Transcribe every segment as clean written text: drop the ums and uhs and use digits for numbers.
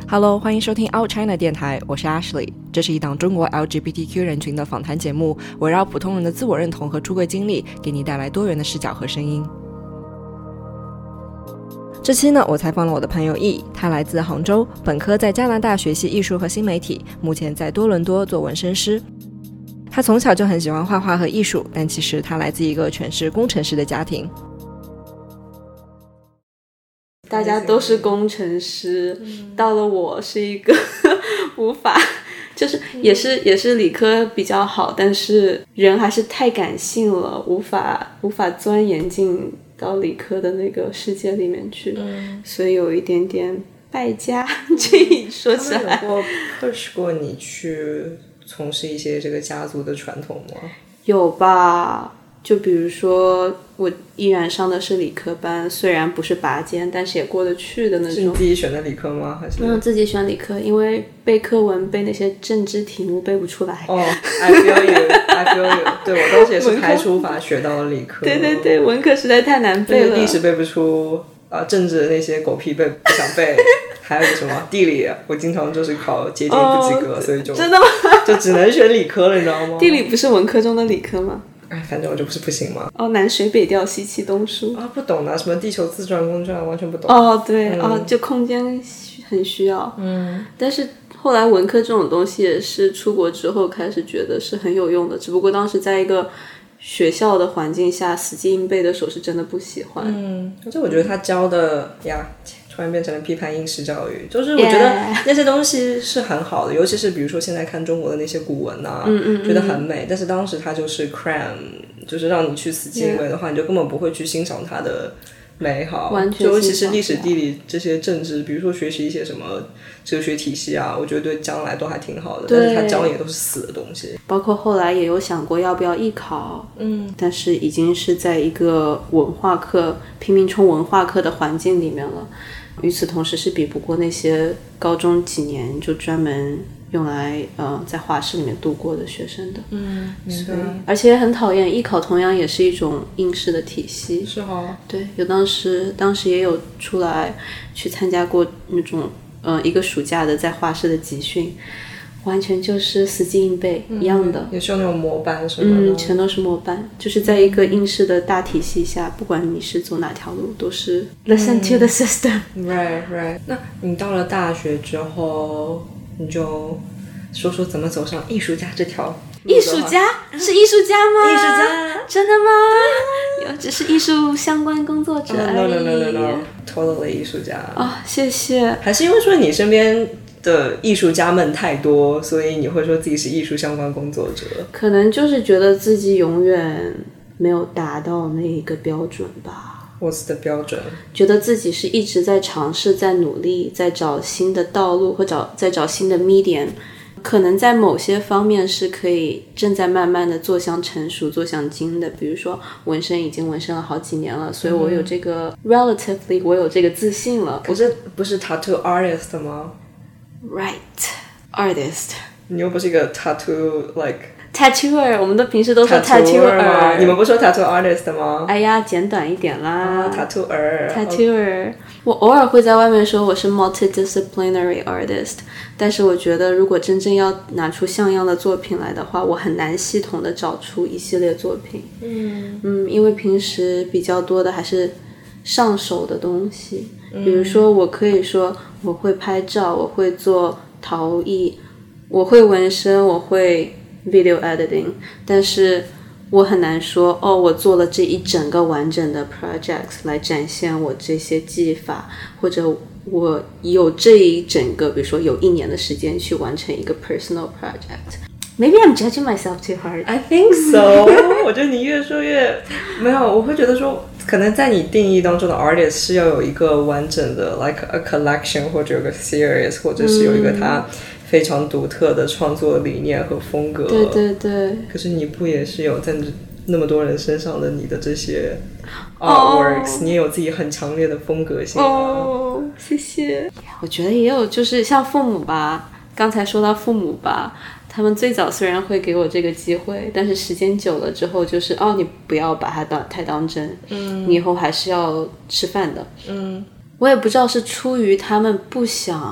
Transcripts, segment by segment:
Hello， 欢迎收听 Out China 电台，我是 Ashley。这是一档中国 LGBTQ 人群的访谈节目，围绕普通人的自我认同和出柜经历，给你带来多元的视角和声音。这期呢，我采访了我的朋友 E， 他来自杭州，本科在加拿大学习艺术和新媒体，目前在多伦多做纹身师。他从小就很喜欢画画和艺术，但其实他来自一个全是工程师的家庭。 大家都是工程师，到了我是一个无法，就是也是理科比较好，但是人还是太感性了，无法钻研进到理科的那个世界里面去，所以有一点点败家。这一说起来， 他们有过 push 过你去从事一些这个家族的传统吗？ 有吧，就比如说我依然上的是理科班，虽然不是拔尖，但是也过得去的那种。是你自己选的理科吗？还是自己选理科，因为背课文背那些政治题目背不出来。 I feel you 对，我当时也是排除法学到了理科。 对，文科实在太难背了， 历史背不出政治那些狗屁背不想背。还有什么地理，我经常就是考接近不及格，所以就真的吗？ 就只能选理科了，你知道吗？ 地理不是文科中的理科吗？ 反正我就不是不行嘛。 南水北调西气东输不懂的，什么地球自转公转完全不懂。 对，就空间很需要。但是后来文科这种东西也是出国之后开始觉得是很有用的，只不过当时在一个学校的环境下死记硬背的时候是真的不喜欢。而且我觉得他教的突然变成了批判应试教育，就是我觉得那些东西是很好的，尤其是比如说现在看中国的那些古文觉得很美，但是当时它就是 cram， 就是让你去死记硬背的话，你就根本不会去欣赏它的美好， 完全尤其是历史地理这些政治，比如说学习一些什么哲学体系我觉得对将来都还挺好的，但是它教也都是死的东西。 包括后来也有想过要不要艺考，但是已经是在一个文化课拼命冲文化课的环境里面了，与此同时是比不过那些高中几年就专门用来在画室里面度过的学生的。所以而且也很讨厌艺考，同样也是一种应试的体系。 是对，有当时也有出来去参加过那种一个暑假的在画室的集训，完全就是死记硬背一样的， 也是有那种模板什么的。 全都是模板，就是在一个应试的大体系下，不管你是走哪条路都是 listen to the system。 right。 那你到了大学之后，你就说说怎么走上艺术家这条路。 艺术家是艺术家吗？ 艺术家真的吗？只是艺术相关工作者而已。 No totally 艺术家谢谢。 还是因为说你身边的艺术家们太多，所以你会说自己是艺术相关工作者？ 可能就是觉得自己永远没有达到那一个标准吧。 What's the 标准？ 觉得自己是一直在尝试，在努力，在找新的道路，或在找新的 medium， 可能在某些方面是可以正在慢慢的做向成熟，做向精的。比如说纹身已经纹身了好几年了，所以我有这个 relatively 我有这个自信了。 可是不是 tattoo artist 吗？ Right artist。 你又不是一个 tattoo tattooer， 我们都平时都说 tattooer 你们不说 tattoo artist 吗？ 哎呀，简短一点啦。 tattooer。 我偶尔会在外面说我是 multidisciplinary artist， 但是我觉得如果真正要拿出像样的作品来的话，我很难系统的找出一系列作品。因为平时比较多的还是上手的东西，比如说我可以说我会拍照，我会做陶艺，我会纹身，我会 video editing， 但是我很难说我做了这一整个完整的 project 来展现我这些技法，或者我有这一整个比如说有1年的时间去完成一个 personal project。 Maybe I'm judging myself too hard. I think so 我觉得你越说越没有，我会觉得说可能在你定义当中的 artist 是要有一个完整的 like a collection， 或者有个 series， 或者是有一个它非常独特的创作理念和风格。 对。 可是你不也是有在那么多人身上的你的这些 artworks，你也有自己很强烈的风格性谢谢。我觉得也有，就是像父母吧，刚才说到父母吧，他们最早虽然会给我这个机会，但是时间久了之后就是你不要把它太当真，你以后还是要吃饭的。我也不知道是出于他们不想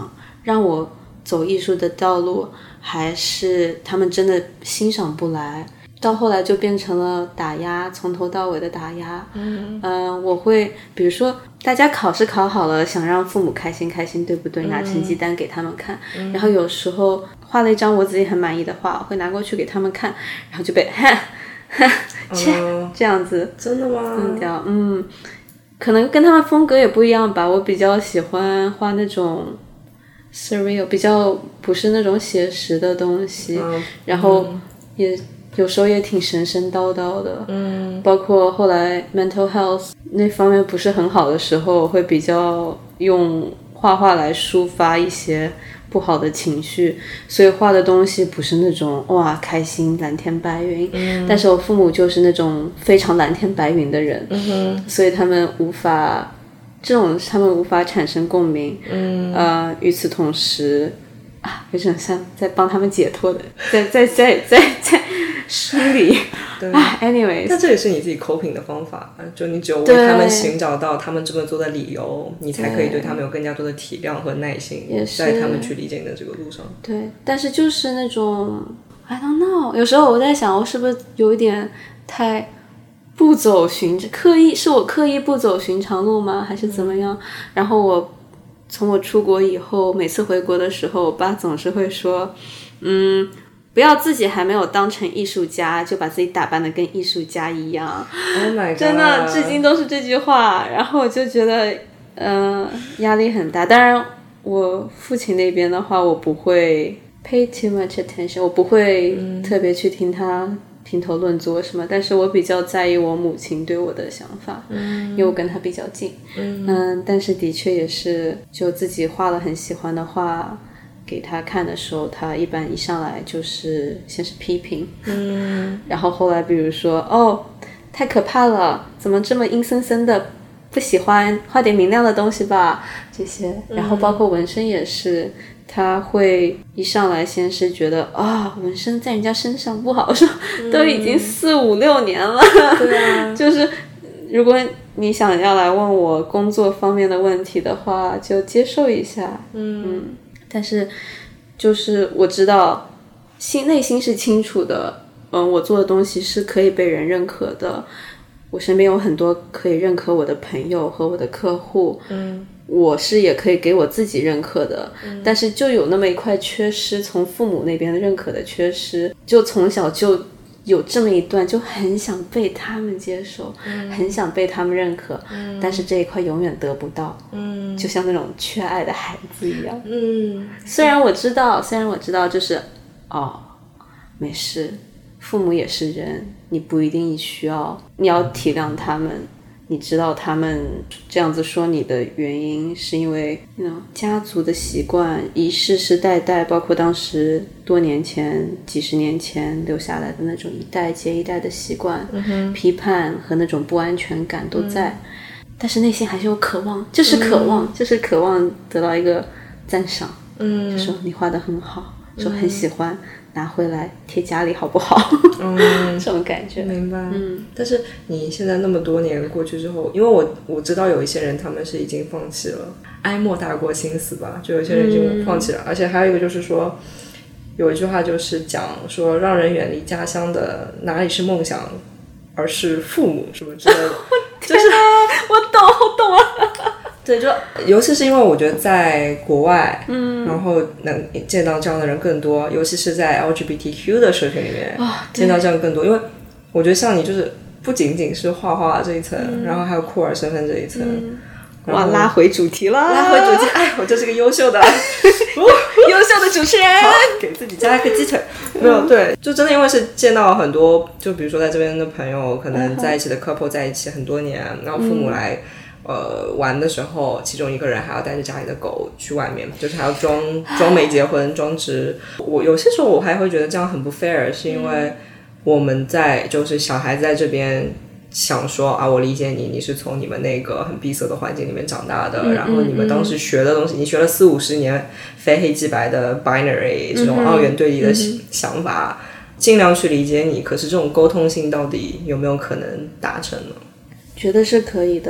让我走艺术的道路，还是他们真的欣赏不来，到后来就变成了打压，从头到尾的打压。我会比如说大家考试考好了，想让父母开心开心，对不对？拿成绩单给他们看，然后有时候画了一张我自己很满意的画，会拿过去给他们看，然后就被这样子真的吗？ 弄掉。可能跟他们风格也不一样吧，我比较喜欢画那种 surreal， 比较不是那种写实的东西，然后也有时候也挺神神叨叨的。包括后来 mental health 那方面不是很好的时候，会比较用画画来抒发一些不好的情绪，所以画的东西不是那种哇开心蓝天白云，但是我父母就是那种非常蓝天白云的人，所以他们无法产生共鸣。与此同时有点像在帮他们解脱的，在梳理。anyways， 那这也是你自己 coping 的方法，就你只有为他们寻找到他们这么做的理由，你才可以对他们有更加多的体谅和耐心，在他们去理解你的这个路上。 对，但是就是那种 I don't know， 有时候我在想，我是不是有一点太不走是我刻意不走寻常路吗？还是怎么样？然后从我出国以后，每次回国的时候，我爸总是会说，不要自己还没有当成艺术家，就把自己打扮得跟艺术家一样。 Oh my god！ 真的，至今都是这句话。然后我就觉得，压力很大。当然，我父亲那边的话，我不会 pay too much attention， 我不会特别去听他评头论足什么，但是我比较在意我母亲对我的想法，因为我跟她比较近。但是的确也是，就自己画了很喜欢的画给他看的时候，他一般一上来就是先是批评，然后后来比如说太可怕了，怎么这么阴森森的，不喜欢，画点明亮的东西吧，这些。然后包括纹身也是，他会一上来先是觉得纹身在人家身上不好，说都已经4、5、6年了， 对啊， 就是如果你想要来问我工作方面的问题的话，就接受一下。但是就是我知道内心是清楚的，我做的东西是可以被人认可的，我身边有很多可以认可我的朋友和我的客户，我是也可以给我自己认可的，但是就有那么一块缺失，从父母那边的认可的缺失，就从小就有这么一段，就很想被他们接受，很想被他们认可，但是这一块永远得不到，就像那种缺爱的孩子一样。虽然我知道就是没事，父母也是人，你不一定你要体谅他们，你知道他们这样子说你的原因是因为家族的习惯，世世代代，包括当时多年前几十年前留下来的那种一代接一代的习惯，批判和那种不安全感都在，但是内心还是有渴望，就是渴望得到一个赞赏，就说你画得很好，说很喜欢，拿回来贴家里好不好？这种感觉。 明白。但是你现在那么多年过去之后，因为我知道有一些人他们是已经放弃了，哀莫大过心死吧，就有些人已经放弃了。而且还有一个就是说，有一句话就是讲说，让人远离家乡的哪里是梦想，而是父母什么之类的。就是我懂啊。 对，就尤其是因为我觉得在国外，然后能见到这样的人更多，尤其是在 LGBTQ 的社群里面，见到这样更多。因为我觉得像你就是不仅仅是画画这一层，然后还有酷儿身份这一层。 哇，拉回主题了！ 我就是个优秀的优秀的主持人， 给自己加一个鸡腿。没有，对，就真的因为是见到很多，就比如说在这边的朋友，可能在一起的 couple 在一起很多年，然后父母来玩的时候，其中一个人还要带着家里的狗去外面，就是还要装没结婚，装直。我有些时候我还会觉得这样很不 fair， 是因为我们就是小孩子在这边想说我理解你是从你们那个很闭塞的环境里面长大的，然后你们当时学的东西，你学了40-50年非黑即白的 binary 这种二元对立的想法，尽量去理解你，可是这种沟通性到底有没有可能达成呢？ 觉得是可以的。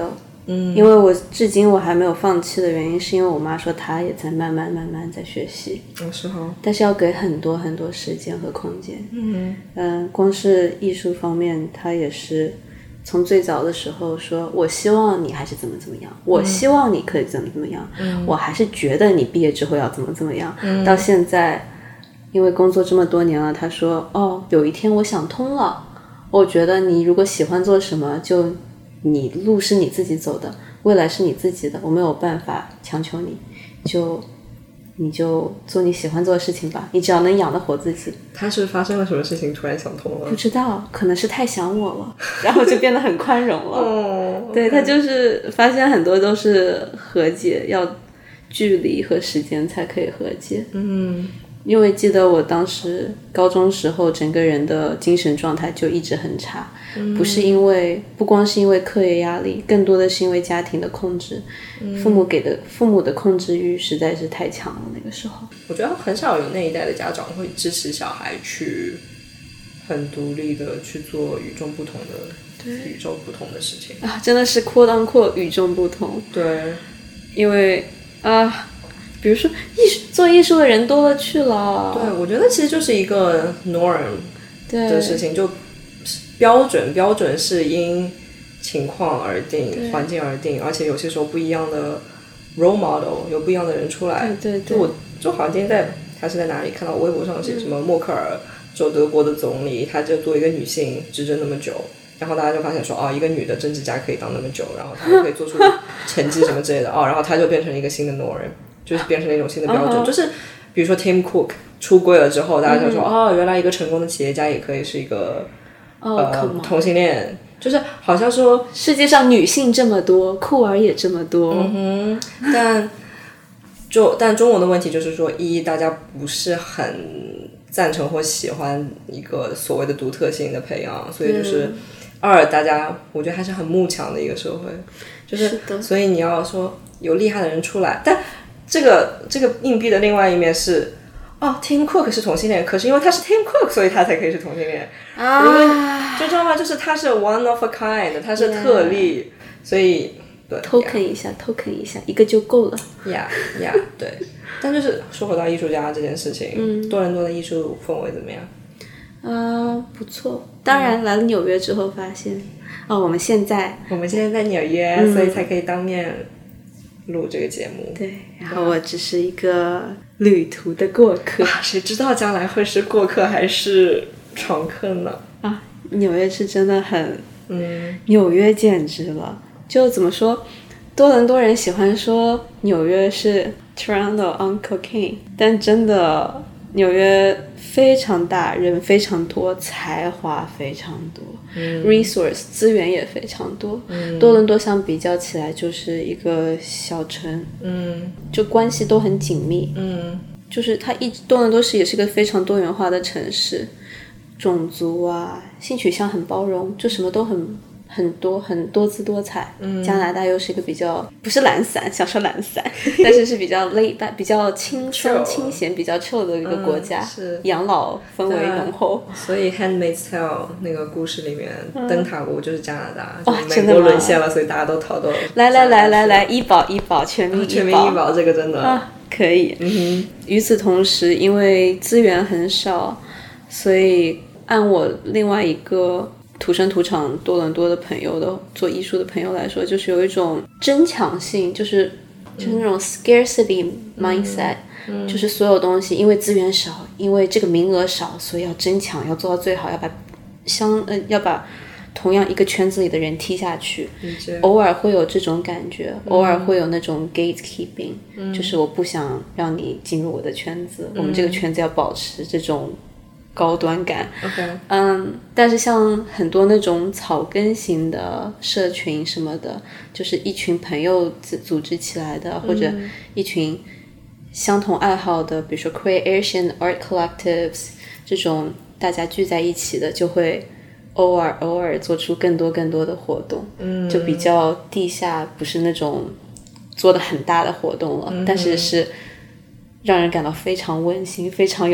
因为我至今我还没有放弃的原因，是因为我妈说她也在慢慢在学习。 是哈。 但是要给很多很多时间和空间。光是艺术方面，她也是从最早的时候说，我希望你还是怎么样，我希望你可以怎么样，我还是觉得你毕业之后要怎么样。到现在，因为工作这么多年了，她说有一天我想通了，我觉得你如果喜欢做什么，就你路是你自己走的，未来是你自己的，我没有办法强求你，你就做你喜欢做的事情吧，你只要能养得活自己。 他是发生了什么事情突然想通了？ 不知道，可能是太想我了，然后就变得很宽容了。对，他就是发现很多都是和解，要距离和时间才可以和解。因为记得我当时高中时候整个人的精神状态就一直很差，不光是因为课业压力，更多的是因为家庭的控制。父母的控制欲实在是太强了。那个时候我觉得很少有那一代的家长会支持小孩去很独立的去做与众不同的事情啊，真的是quote unquote与众不同。 对， 因为比如说做艺术的人多了去了。 对，我觉得其实就是一个 norm 的事情，就标准是因情况而定，环境而定，而且有些时候不一样的 role model 有不一样的人出来。 对， 就好像今天他是在哪里看到微博上写什么默克尔做德国的总理，他就作为一个女性执政那么久，然后大家就发现说一个女的政治家可以当那么久，然后她就可以做出成绩什么之类的然后她就变成一个新的 norm， 就是变成了一种新的标准。就是比如说 Tim Cook 出柜了之后，大家就说原来一个成功的企业家也可以是一个同性恋，就是好像说世界上女性这么多，酷儿也这么多。 但中国的问题就是说，大家不是很赞成或喜欢一个所谓的独特性的培养，所以就是大家我觉得还是很慕强的一个社会，就是所以你要说有厉害的人出来，但这个硬币的另外一面是Tim Cook 是同性恋，可是因为他是 Tim Cook， 所以他才可以是同性恋因为就知道吗？就是他是 one of a kind， 他是特例，所以对 token 一下一个就够了。 对。但就是说回到艺术家这件事情，多伦多的艺术氛围怎么样？ 不错。当然来了纽约之后发现我们现在在纽约，所以才可以当面录这个节目。 对，然后我只是一个旅途的过客谁知道将来会是过客还是常客呢？ 纽约是真的很纽约简直了。就怎么说，多伦多人喜欢说纽约是 Toronto on cocaine， 但真的纽约非常大，人非常多，才华非常多，resource 资源也非常多。多伦多相比较起来就是一个小城，就关系都很紧密，就是多伦多也是一个非常多元化的城市，种族性取向很包容，就什么都很多姿多彩。加拿大又是一个比较不是懒散，想说懒散但是比较比较轻松清闲比较 chill 的一个国家，养老氛围浓厚。 所以 Handmaid's Tale 那个故事里面灯塔国就是加拿大，美国沦陷了，所以大家都逃到来医保全民医保这个真的可以。与此同时因为资源很少，所以按我另外一个土生土长多伦多的朋友的做艺术的朋友来说，就是有一种争抢性，就是那种 scarcity mindset，就是所有东西因为资源少，因为这个名额少，所以要争抢，要做到最好，要把同样一个圈子里的人踢下去。偶尔会有这种感觉，偶尔会有那种 gatekeeping，就是我不想让你进入我的圈子，我们这个圈子要保持这种高端感。但是像很多那种草根型的社群什么的，就是一群朋友组织起来的，或者一群相同爱好的，比如说 Creation Art Collectives 这种大家聚在一起的，就会偶尔做出更多的活动，就比较地下，不是那种做的很大的活动了，但是让人感到非常温馨，非常有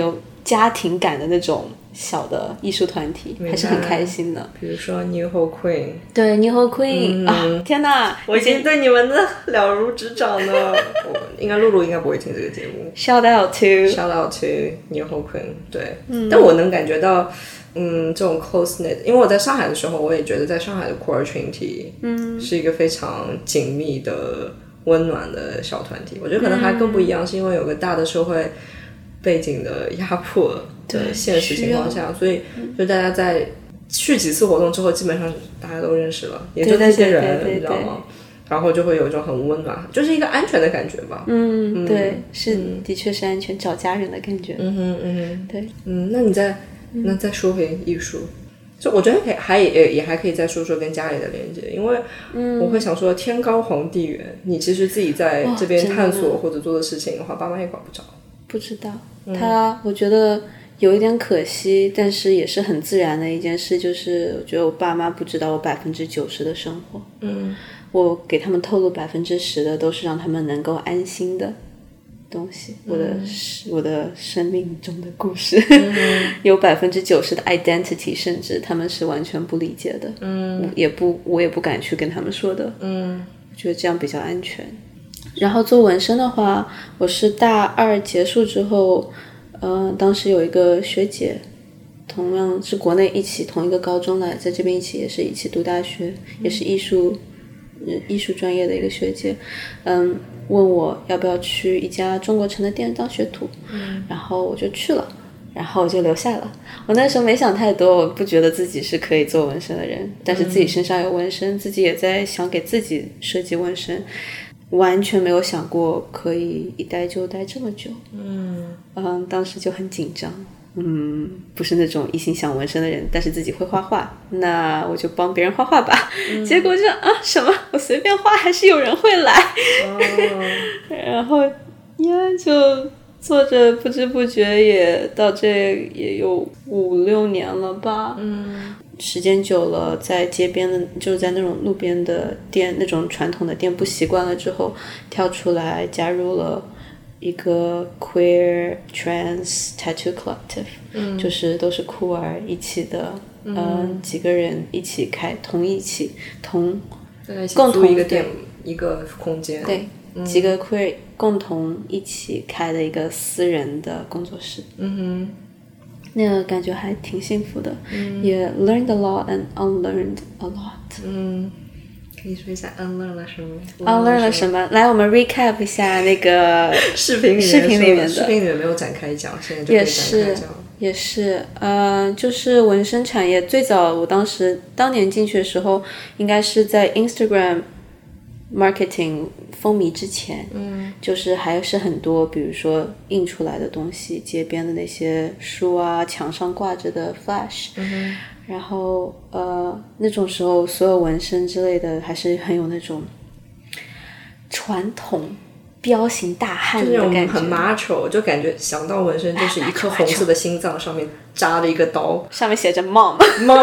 家庭感的那种小的艺术团体，还是很开心的。 比如说 NoHo Queen， 对 NoHo Queen、啊，天哪， 我已经对你们的了如指掌了。应该露露应该不会听这个节目。 Shout out to NoHo Queen， 对，但我能感觉到。这种 close knit， 因为我在上海的时候，我也觉得在上海的 core 群体，是一个非常紧密的、温暖的小团体。我觉得可能还更不一样，是因为有个大的社会背景的压迫的现实情况下，所以就大家在去几次活动之后，基本上大家都认识了，也就那些人，你知道吗？然后就会有一种很温暖，就是一个安全的感觉吧。 对，是的确是安全，找家人的感觉。对， 那再说回艺术，就我觉得也还可以再说说跟家里的连接，因为我会想说天高皇帝远，你其实自己在这边探索或者做的事情的话，爸妈也管不着。 不知道，我觉得有一点可惜，但是也是很自然的一件事，就是我觉得我爸妈不知道我90%的生活。我给他们透露10%的都是让他们能够安心的东西，我的生命中的故事，有90%的 identity， 甚至他们是完全不理解的。我也不敢去跟他们说的。我觉得这样比较安全。然后做纹身的话，我是大2结束之后，当时有一个学姐，同样是国内一起同一个高中来，在这边也是一起读大学，也是艺术专业的一个学姐，问我要不要去一家中国城的店当学徒，然后我就去了，然后我就留下了。我那时候没想太多，我不觉得自己是可以做纹身的人，但是自己身上有纹身，自己也在想给自己设计纹身，完全没有想过可以一待就待这么久。当时就很紧张。不是那种一心想纹身的人，但是自己会画画，那我就帮别人画画吧。结果就什么我随便画还是有人会来。然后就做着，不知不觉也到这也有5-6年了吧。时间久了，在街边的，就是在那种路边的店，那种传统的店不习惯了之后，跳出来加入了一个 queer trans tattoo collective，就是都是酷儿一起的，几个人一起开，共同一个店，一个空间， 对，几个 queer 共同一起开的一个私人的工作室。那个感觉还挺幸福的，也 learned a lot and unlearned a lot。 可以说一下 unlearn 了什么 ？unlearn 了什么？来，我们 recap 一下那个视频里面的。视频里面没有展开讲，现在就可以展开讲。 也是，就是纹身产业最早，我当年进去的时候，应该是在 Instagram marketing 风靡之前，就是还是很多，比如说印出来的东西，街边的那些书啊，墙上挂着的 flash。然后那种时候所有纹身之类的还是很有那种传统彪形大汉的感觉， 就是很 macho， 就感觉想到纹身就是一颗红色的心脏上面扎了一个刀， 上面写着 mom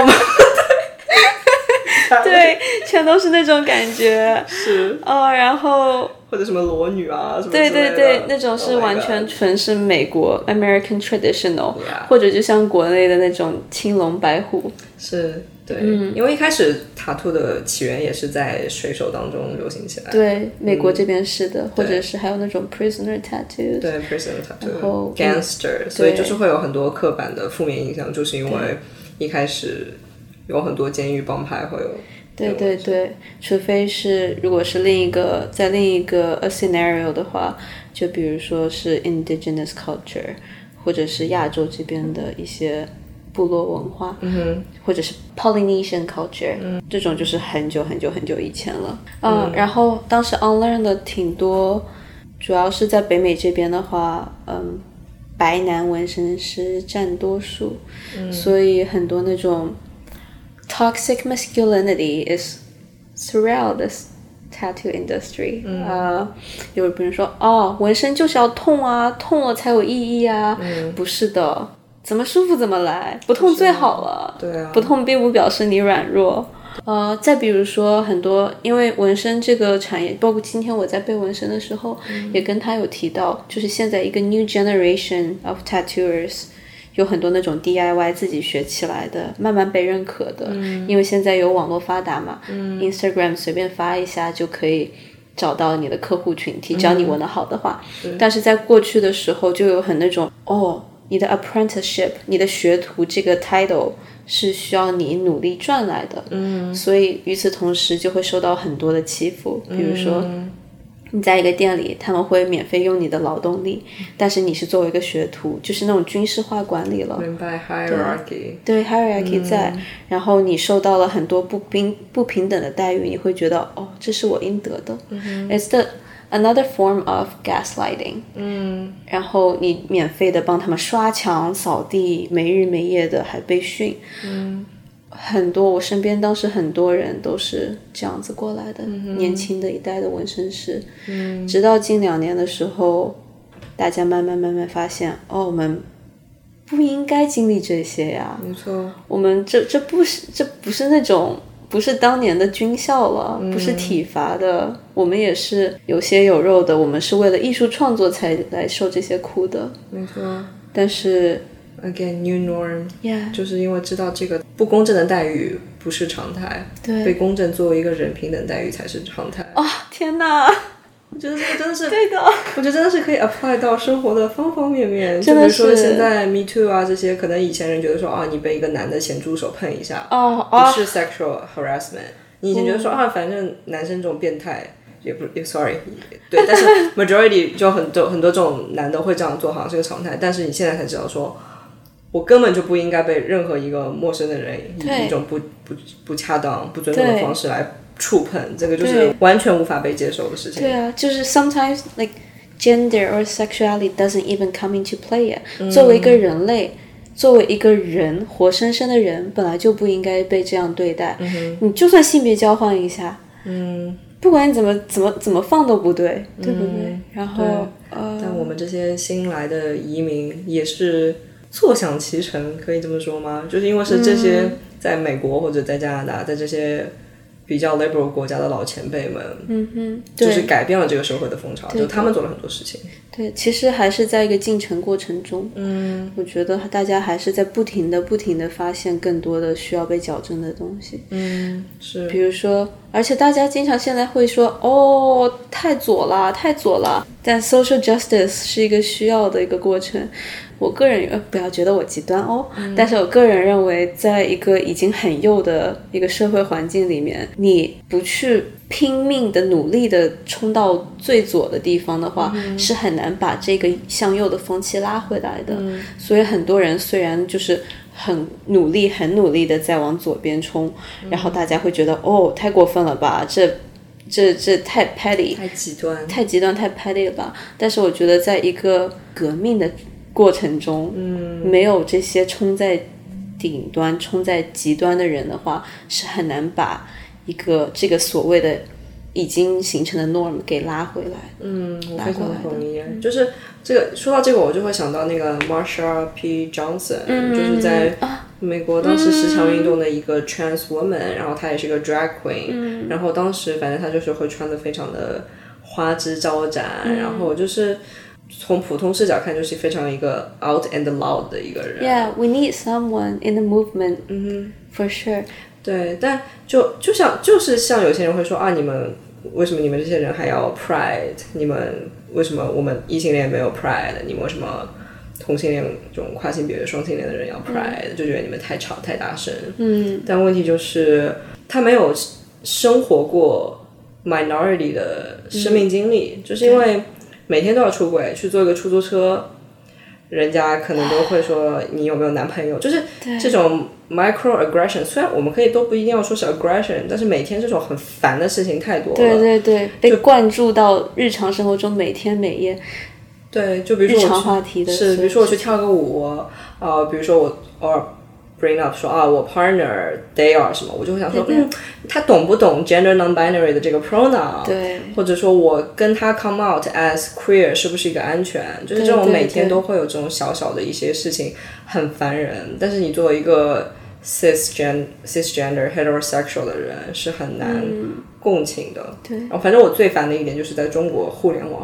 对，全都是那种感觉。 是然后或者什么裸女啊什么之类的， 对，那种是完全纯是美国 American traditional，或者就像国内的那种青龙白虎。 是，对，因为一开始塔图的起源也是在水手当中流行起来。 对，美国这边是的，或者是还有那种 prisoner tattoos。 对 prisoner tattoo， 然后 gangster， 所以就是会有很多刻板的负面印象，就是因为一开始有很多监狱帮派会有。 对，除非是如果是在另一个 a scenario 的话，就比如说是 indigenous culture， 或者是亚洲这边的一些部落文化，或者是 Polynesian culture，这种就是很久以前了。然后当时 unlearn 的挺多，主要是在北美这边的话，白男纹身师占多数，所以很多那种toxic masculinity is throughout this tattoo industry。有别人说纹身就是要痛啊，痛了才有意义啊。不是的，怎么舒服怎么来，不痛最好了。 对啊， 不痛并不表示你软弱。再比如说很多，因为纹身这个产业，包括今天我在背纹身的时候，也跟他有提到，就是现在一个 new generation of tattooers， 有很多那种 DIY 自己学起来的，慢慢被认可的，因为现在有网络发达嘛，Instagram 随便发一下就可以找到你的客户群体，只要你闻得好的话。但是在过去的时候就有很那种你的 apprenticeship 你的学徒这个 title 是需要你努力赚来的，所以与此同时就会受到很多的欺负，比如说你在一个店里他们会免费用你的劳动力，但是你是作为一个学徒，就是那种军事化管理了， 明白 hierarchy 对 hierarchy 在，然后你受到了很多不平等的待遇，你会觉得这是我应得的，it's another form of gaslighting 然后你免费的帮他们刷墙扫地，没日没夜的还被训很多，我身边当时很多人都是这样子过来的，年轻的一代的纹身师直到近2年的时候，大家慢慢发现我们不应该经历这些呀， 没错， 我们这不是那种不是当年的军校了，不是体罚的，我们也是有血有肉的，我们是为了艺术创作才来受这些苦的， 没错， 但是 again new norm yeah 就是因为知道这个不公正的待遇不是常态， 对， 被公正作为一个人平等待遇才是常态。 天哪， 我觉得这个真的是对的， 我觉得真的是可以 apply 到生活的方方面面， 真的是就比如说现在 Me Too 啊这些，可能以前人觉得说你被一个男的咸猪手碰一下不是 sexual harassment，你以前觉得说反正男生这种变态也不sorry 对，但是 majority 就很多这种男的会这样做好像是个常态，但是你现在才知道说我根本就不应该被任何一个陌生的人以一种不恰当不尊重的方式来触碰，这个就是完全无法被接受的事情。 对啊，就是 sometimes like gender or sexuality doesn't even come into play yet，作为一个人类作为一个人活生生的人本来就不应该被这样对待，你就算性别交换一下不管你怎么放都不对，对不对？然后但我们这些新来的移民也是坐享其成，可以这么说吗？就是因为是这些在美国或者在加拿大，在这些比较 liberal 国家的老前辈们就是改变了这个社会的风潮，就他们做了很多事情。 对，其实还是在一个进程过程中，我觉得大家还是在不停的发现更多的需要被矫正的东西。 是， 比如说，而且大家经常现在会说太左了，但 social justice 是一个需要的一个过程。我个人不要觉得我极端但是我个人认为在一个已经很右的一个社会环境里面，你不去拼命的努力的冲到最左的地方的话，是很难把这个向右的风气拉回来的。所以很多人虽然就是很努力的在往左边冲，然后大家会觉得太过分了吧，这太 petty 太极端太 petty 了吧。但是我觉得在一个革命的过程中没有这些冲在顶端冲在极端的人的话，是很难把一个这个所谓的已经形成的 norm 给拉回来。 我非常同意。就是这个说到这个我就会想到那个 Marsha P. Johnson，就是在美国当时十强运动的一个 trans woman，然后她也是一个 drag queen，然后当时反正她就是会穿得非常的花枝招展，然后就是从普通视角看就是非常一个 out and loud 的一个人。 Yeah, we need someone in the movement for sure。 对，但就是像有些人会说你们为什么你们这些人还要 pride， 你们为什么我们异性恋没有 pride， 你们为什么同性恋这种跨性别双性恋的人要 pride，就觉得你们太吵太大声。但问题就是他没有生活过 minority 的生命经历，就是因为每天都要出轨去坐一个出租车，人家可能都会说你有没有男朋友，就是这种 microaggression， 虽然我们可以都不一定要说是 aggression， 但是每天这种很烦的事情太多了。 对，被灌注到日常生活中每天每夜。 对，就比如说日常话题的是，比如说我去跳个舞，比如说我偶尔 bring up 说我 partner they are 什么，我就会想说他懂不懂 gender non-binary 的这个 pronoun， 对， 或者说我跟他 come out as queer 是不是一个安全，就是这种每天都会有这种小小的一些事情很烦人，但是你作为一个 cisgender heterosexual 的人是很难共情的。 对， 然后反正我最烦的一点就是在中国互联网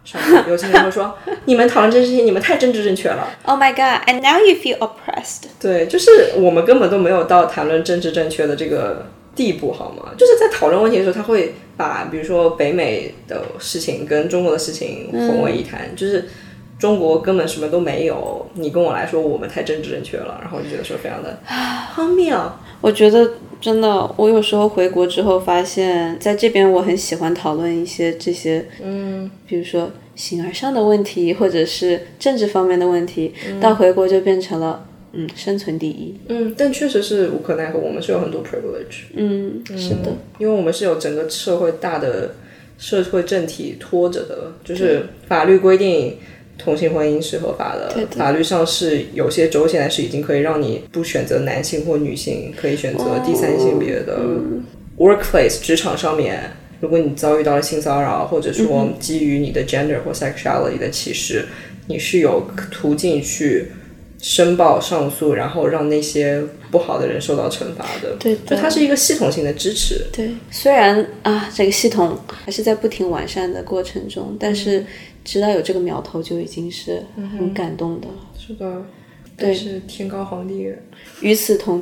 上面有些人会说你们讨论这些事情，你们太政治正确了。 Oh my god, and now you feel oppressed. 对，就是我们根本都没有到谈论政治正确的这个地步，好吗？就是在讨论问题的时候，他会把比如说北美的事情跟中国的事情混为一谈，就是中国根本什么都没有，你跟我来说我们太政治正确了，然后我就觉得说非常的荒谬。 我觉得真的，我有时候回国之后发现，在这边我很喜欢讨论一些这些，比如说形而上的问题，或者是政治方面的问题，到回国就变成了生存第一。 但确实是无可奈何，我们是有很多 privilege。 是的， 因为我们是有整个社会大的社会政体拖着的，就是法律规定同性婚姻是合法的，法律上是有些州现在是已经可以让你不选择男性或女性，可以选择第三性别的。workplace 职场上面，如果你遭遇到了性骚扰，或者说基于你的 gender 或 sexuality 的歧视，你是有途径去申报上诉，然后让那些不好的人受到惩罚的。 对， 就它是一个系统性的支持。 对，虽然这个系统还是在不停完善的过程中，但是知道有这个苗头就已经是很感动的了。 是的，但是天高皇帝远。 与此同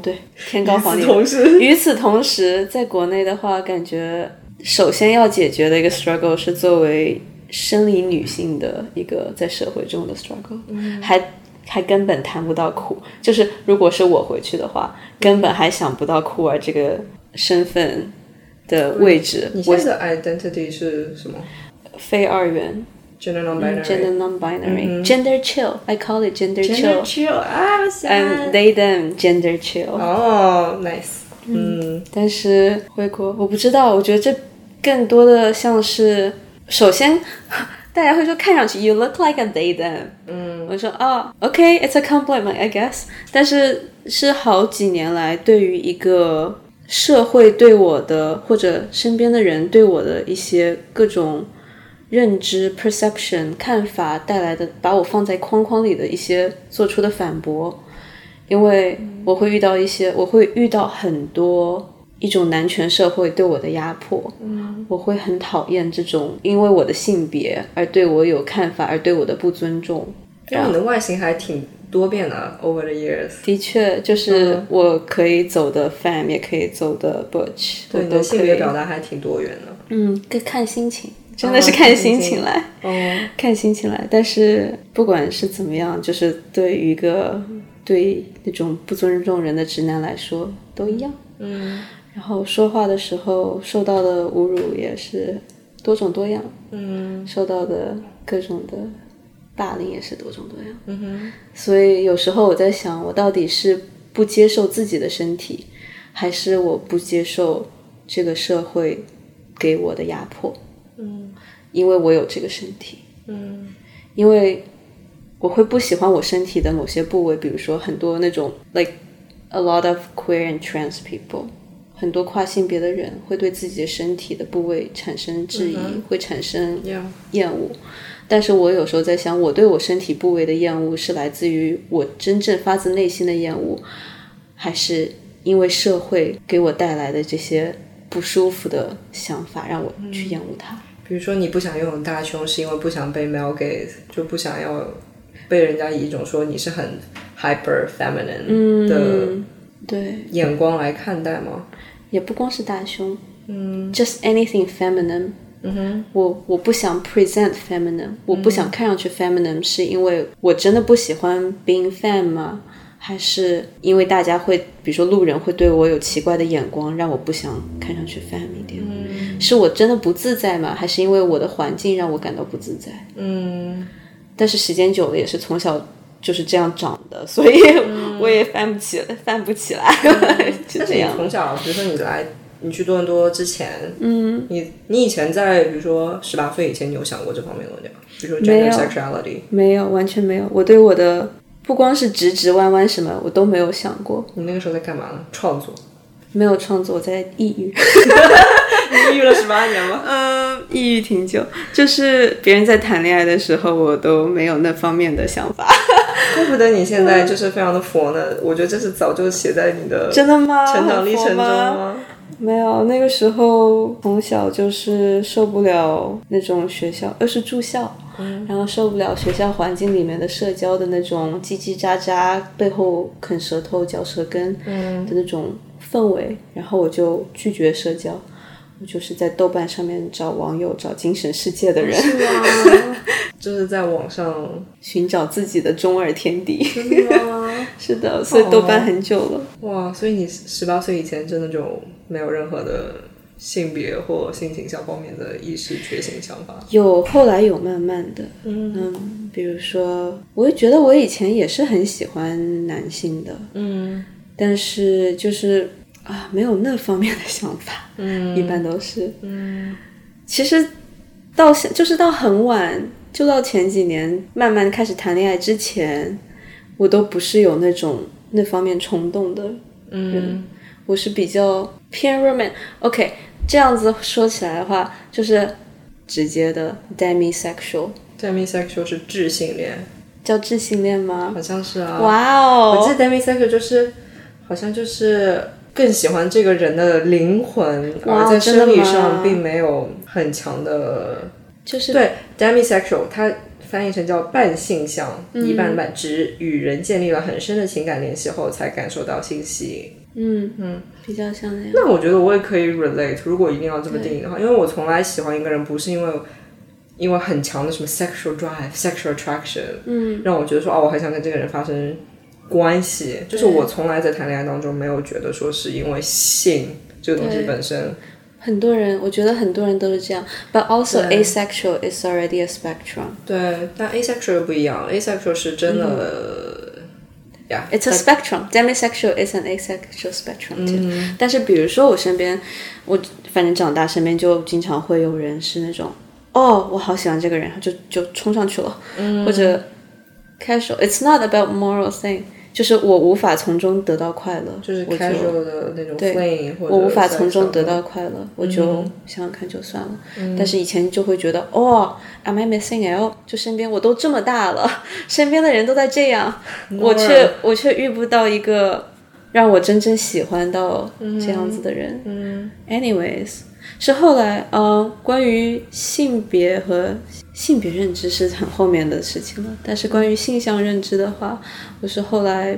时，在国内的话，感觉首先要解决的一个 struggle 是作为生理女性的一个在社会中的 struggle，还根本谈不到酷，就是如果是我回去的话，根本还想不到酷儿这个身份的位置。 你现在的 identity 是什么？ 非二元。 Gender non-binary. Gender non-binary. Gender chill. I call it gender chill. Gender chill. And they them gender chill. Nice. 但是回国我不知道，我觉得这更多的像是，首先大家会说看上去 you look like a they them。我说OK, it's a compliment, I guess. 但是是好几年来对于一个社会对我的或者身边的人对我的一些各种认知 perception 看法带来的，把我放在框框里的一些做出的反驳。因为我会遇到很多一种男权社会对我的压迫。我会很讨厌这种因为我的性别而对我有看法而对我的不尊重。 因为你的外形还挺多变的 over the years。 的确，就是我可以走的 femme 也可以走的 butch。 对，你的性别表达还挺多元的。 看心情，真的是看心情来。看心情来。但是不管是怎么样，就是对于一个对那种不尊重人的直男来说都一样。然后说话的时候受到的侮辱也是多种多样。受到的各种的霸凌也是多种多样。所以有时候我在想，我到底是不接受自己的身体，还是我不接受这个社会给我的压迫。因为我有这个身体。因为我会不喜欢我身体的某些部位，比如说很多那种 like a lot of queer and trans people， 很多跨性别的人会对自己的身体的部位产生质疑，会产生厌恶。但是我有时候在想，我对我身体部位的厌恶是来自于我真正发自内心的厌恶，还是因为社会给我带来的这些不舒服的想法让我去厌恶它。 比如说你不想拥有大胸是因为不想被 male gaze， 就不想要被人家以一种说你是很 hyper feminine 的眼光来看待吗？ 也不光是大胸。just anything feminine。我不想 present feminine， 我不想看上去 feminine， 是因为我真的不喜欢 being femme 吗？还是因为大家会比如说路人会对我有奇怪的眼光，让我不想看上去 femme 一点？是我真的不自在吗？还是因为我的环境让我感到不自在？但是时间久了也是从小就是这样长的，所以我也翻不起来。 但是你从小比如说你去多伦多之前，你以前在比如说18岁以前，你有想过这方面的问题吗？比如说 gender sexuality？ 没有，完全没有。我对我的不光是直直弯弯什么我都没有想过。 你那个时候在干嘛呢？创作？ 没有创作，我在抑郁。 你抑郁了18年吗？ 抑郁挺久，就是别人在谈恋爱的时候我都没有那方面的想法。 怪不得你现在就是非常的佛呢。我觉得这是早就写在你的真的吗？ 成长历程中吗？ 没有，那个时候从小就是受不了那种学校，是住校，然后受不了学校环境里面的社交的那种叽叽喳喳，背后啃舌头嚼舌根的那种氛围，然后我就拒绝社交。我就是在豆瓣上面找网友，找精神世界的人， 是吗？就是在网上寻找自己的中二天地。 真的吗？ 是的，所以豆瓣很久了。 哇，所以你18岁以前真的就没有任何的性别或性倾向方面的意识觉醒想法？ 有，后来有慢慢的，比如说，我也觉得我以前也是很喜欢男性的，但是就是没有那方面的想法，一般都是，其实就是到很晚，就到前几年慢慢开始谈恋爱之前，我都不是有那方面冲动的人，我是比较偏 OK， 这样子说起来的话，就是直接的 demisexual。demisexual 是智性恋， 叫智性恋吗？ 好像是啊。 哇哦！ 我记得 demisexual 就是好像就是更喜欢这个人的灵魂，而在生理上并没有很强的， 就是对 demisexual 它翻译成叫半性向，一半半，指与人建立了很深的情感联系后才感受到性吸引。 比较像那样。 那我觉得我也可以 relate， 如果一定要这么定义的话，因为我从来喜欢一个人不是因为很强的什么 sexual drive、sexual attraction，让我觉得说我很想跟这个人发生关系，就是我从来在谈恋爱当中没有觉得说是因为性这个东西本身。 很多人，我觉得很多人都是这样 ，but also asexual is already a spectrum。 对，但 asexual 不一样 ，asexual 是真的。 It's a spectrum. Demisexual is an asexual spectrum too. 但是比如说我身边，我反正长大身边就经常会有人是那种，我好喜欢这个人，就冲上去了，或者 casual. It's not about moral thing. 就是我无法从中得到快乐， 就是 casual 的那种 fling， 或者我无法从中得到快乐，我就想想看就算了。但是以前就会觉得am I missing out？ 就身边我都这么大了，身边的人都在这样，我却遇不到一个让我真正喜欢到这样子的人。Anyways， 是后来关于性别和性别认知是很后面的事情了，但是关于性向认知的话，我是后来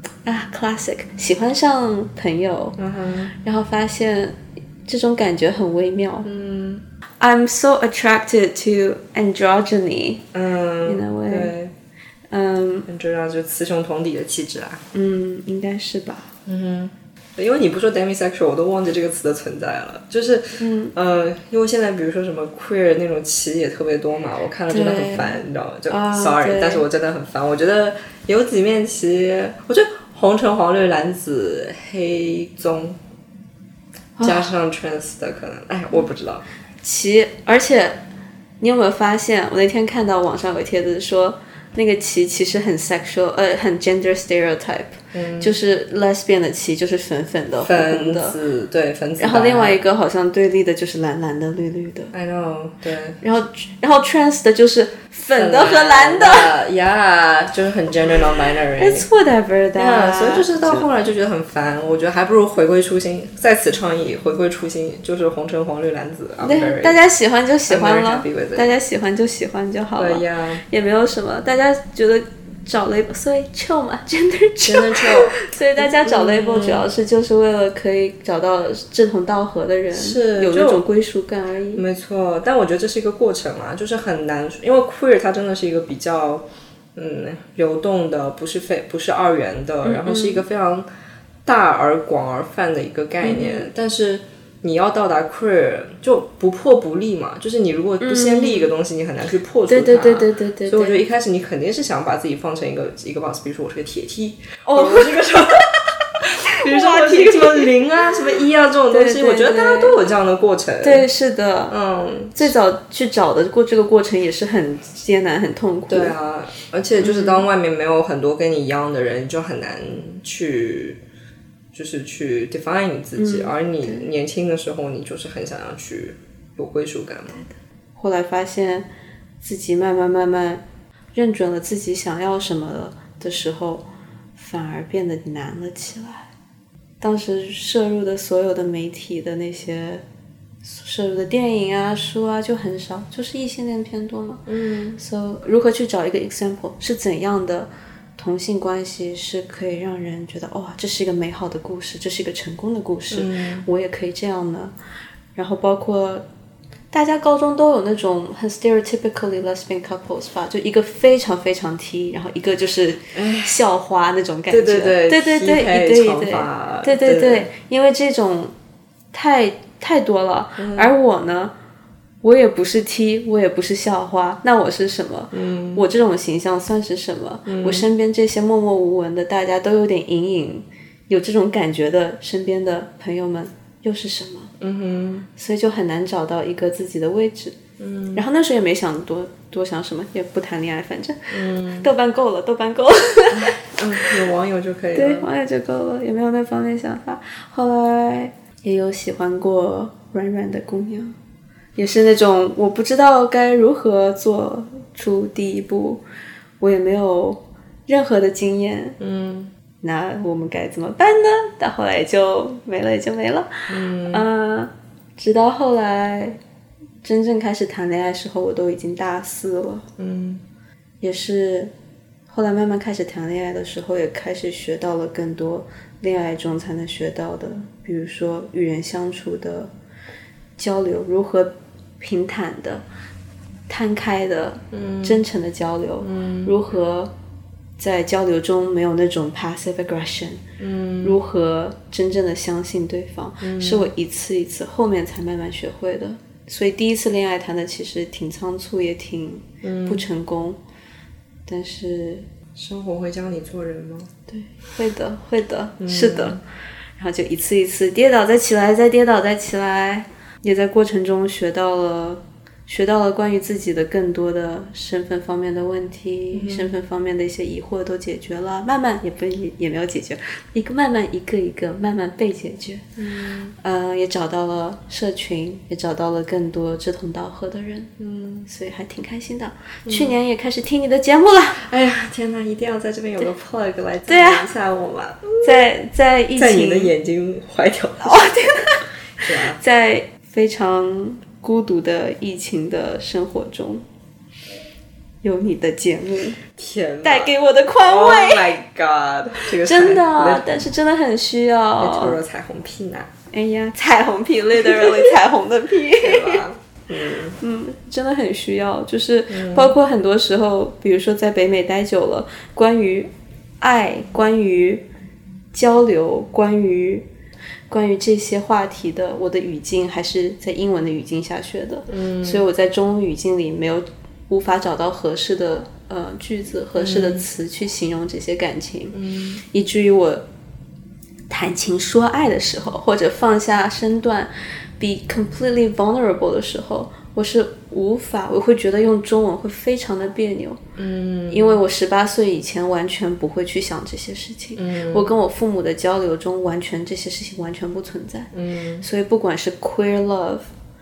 classic 喜欢上朋友，然后发现这种感觉很微妙。I'm so attracted to androgyny in a way。 对，androgyny 就是雌雄同体的气质啊。 应该是吧。 因为你不说 demisexual 我都忘记这个词的存在了，就是因为现在比如说什么 queer 那种旗也特别多嘛，我看了真的很烦，你知道吗？就 sorry， 但是我真的很烦。我觉得有几面旗，我觉得红橙黄绿蓝紫黑棕加上 trans 的可能，我不知道旗。而且你有没有发现，我那天看到网上有帖子说那个旗其实很 sexual， 很 gender stereotype，就是 lesbian 的旗就是粉粉的、红红的， 粉紫，对，粉紫。 然后另外一个好像对立的就是蓝蓝的、绿绿的。 I know， 对。 然后 trans 的就是粉的和蓝的 ，yeah， 就是很 gender non-binary。 It's whatever that。 所以就是到后来就觉得很烦，我觉得还不如回归初心，在此倡议回归初心，就是红橙黄绿蓝紫。 对，大家喜欢就喜欢了，大家喜欢就喜欢就好了， 对呀， 也没有什么，大家觉得找 label， 所以 chill 嘛 ，gender chill， 所以大家找 label 主要是就是为了可以找到志同道合的人， 是有那种归属感而已。 没错，但我觉得这是一个过程啊，就是很难，因为 queer 它真的是一个比较流动的，不是二元的，然后是一个非常大而广而泛的一个概念，但是你要到达 queer 就不破不立嘛，就是你如果不先立一个东西，你很难去破除它。 对。 所以我觉得一开始你肯定是想把自己放成一个 box， 比如说我是个铁梯，我是个什么，比如说我是一个什么0啊、什么1啊这种东西，我觉得大家都有这样的过程。 对，是的，最早去找的这个过程也是很艰难、很痛苦。 对啊，而且就是当外面没有很多跟你一样的人，就很难去。就是去 define 你自己，而你年轻的时候，你就是很想要去有归属感嘛。 后来发现自己慢慢认准了自己想要什么的时候，反而变得难了起来。 当时摄入的所有的媒体的那些摄入的电影啊书啊就很少，就是异性恋偏多嘛。So 如何去找一个 example 是怎样的同性关系是可以让人觉得哇，这是一个美好的故事，这是一个成功的故事，我也可以这样呢。然后包括大家高中都有那种很 stereotypically lesbian couples 吧，就一个非常非常 T， 然后一个就是校花那种感觉。 对对对对对，一对一对，对对对，因为这种太多了。而我呢，我也不是 T， 我也不是校花，那我是什么？我这种形象算是什么？我身边这些默默无闻的，大家都有点隐隐有这种感觉的身边的朋友们又是什么？所以就很难找到一个自己的位置。然后那时候也没想多想什么，也不谈恋爱，反正豆瓣够了。 有网友就可以了。 对，网友就够了，也没有那方面想法。后来也有喜欢过软软的姑娘，也是那种我不知道该如何做出第一步，我也没有任何的经验。那我们该怎么办呢？到后来就没了，直到后来真正开始谈恋爱的时候，我都已经大4了。也是后来慢慢开始谈恋爱的时候，也开始学到了更多恋爱中才能学到的，比如说与人相处的交流，如何平坦的、摊开的、真诚的交流，如何在交流中没有那种 passive aggression，如何真正的相信对方，是我一次一次后面才慢慢学会的。所以第一次恋爱谈的其实挺仓促，也挺不成功，但是生活会教你做人吗？ 对，会的，是的。然后就一次一次跌倒再起来，再跌倒再起来，也在过程中学到了关于自己的更多的身份方面的问题，身份方面的一些疑惑都解决了，慢慢也没有解决，慢慢一个慢慢被解决。也找到了社群，也找到了更多志同道合的人。所以还挺开心的。去年也开始听你的节目了。 哎呀，天哪，一定要在这边有个 plug 来赞扬一下我嘛。 在疫情， 在你的眼睛怀条。 天哪。在非常孤独的疫情的生活中，有你的节目， 天哪， 带给我的宽慰。 Oh my god， 这个真的，但是真的很需要。 透露彩虹屁呢？ 哎呀，彩虹屁 ，literally 彩虹的屁， 对吧？ 真的很需要，就是包括很多时候，比如说在北美待久了，关于爱，关于交流，关于这些话题的，我的语境还是在英文的语境下学的。所以我在中文语境里无法找到合适的句子、合适的词去形容这些感情，以至于我谈情说爱的时候，或者放下身段 be completely vulnerable 的时候，我会觉得用中文会非常的别扭。因为我18岁以前完全不会去想这些事情。我跟我父母的交流中这些事情完全不存在。所以不管是 queer love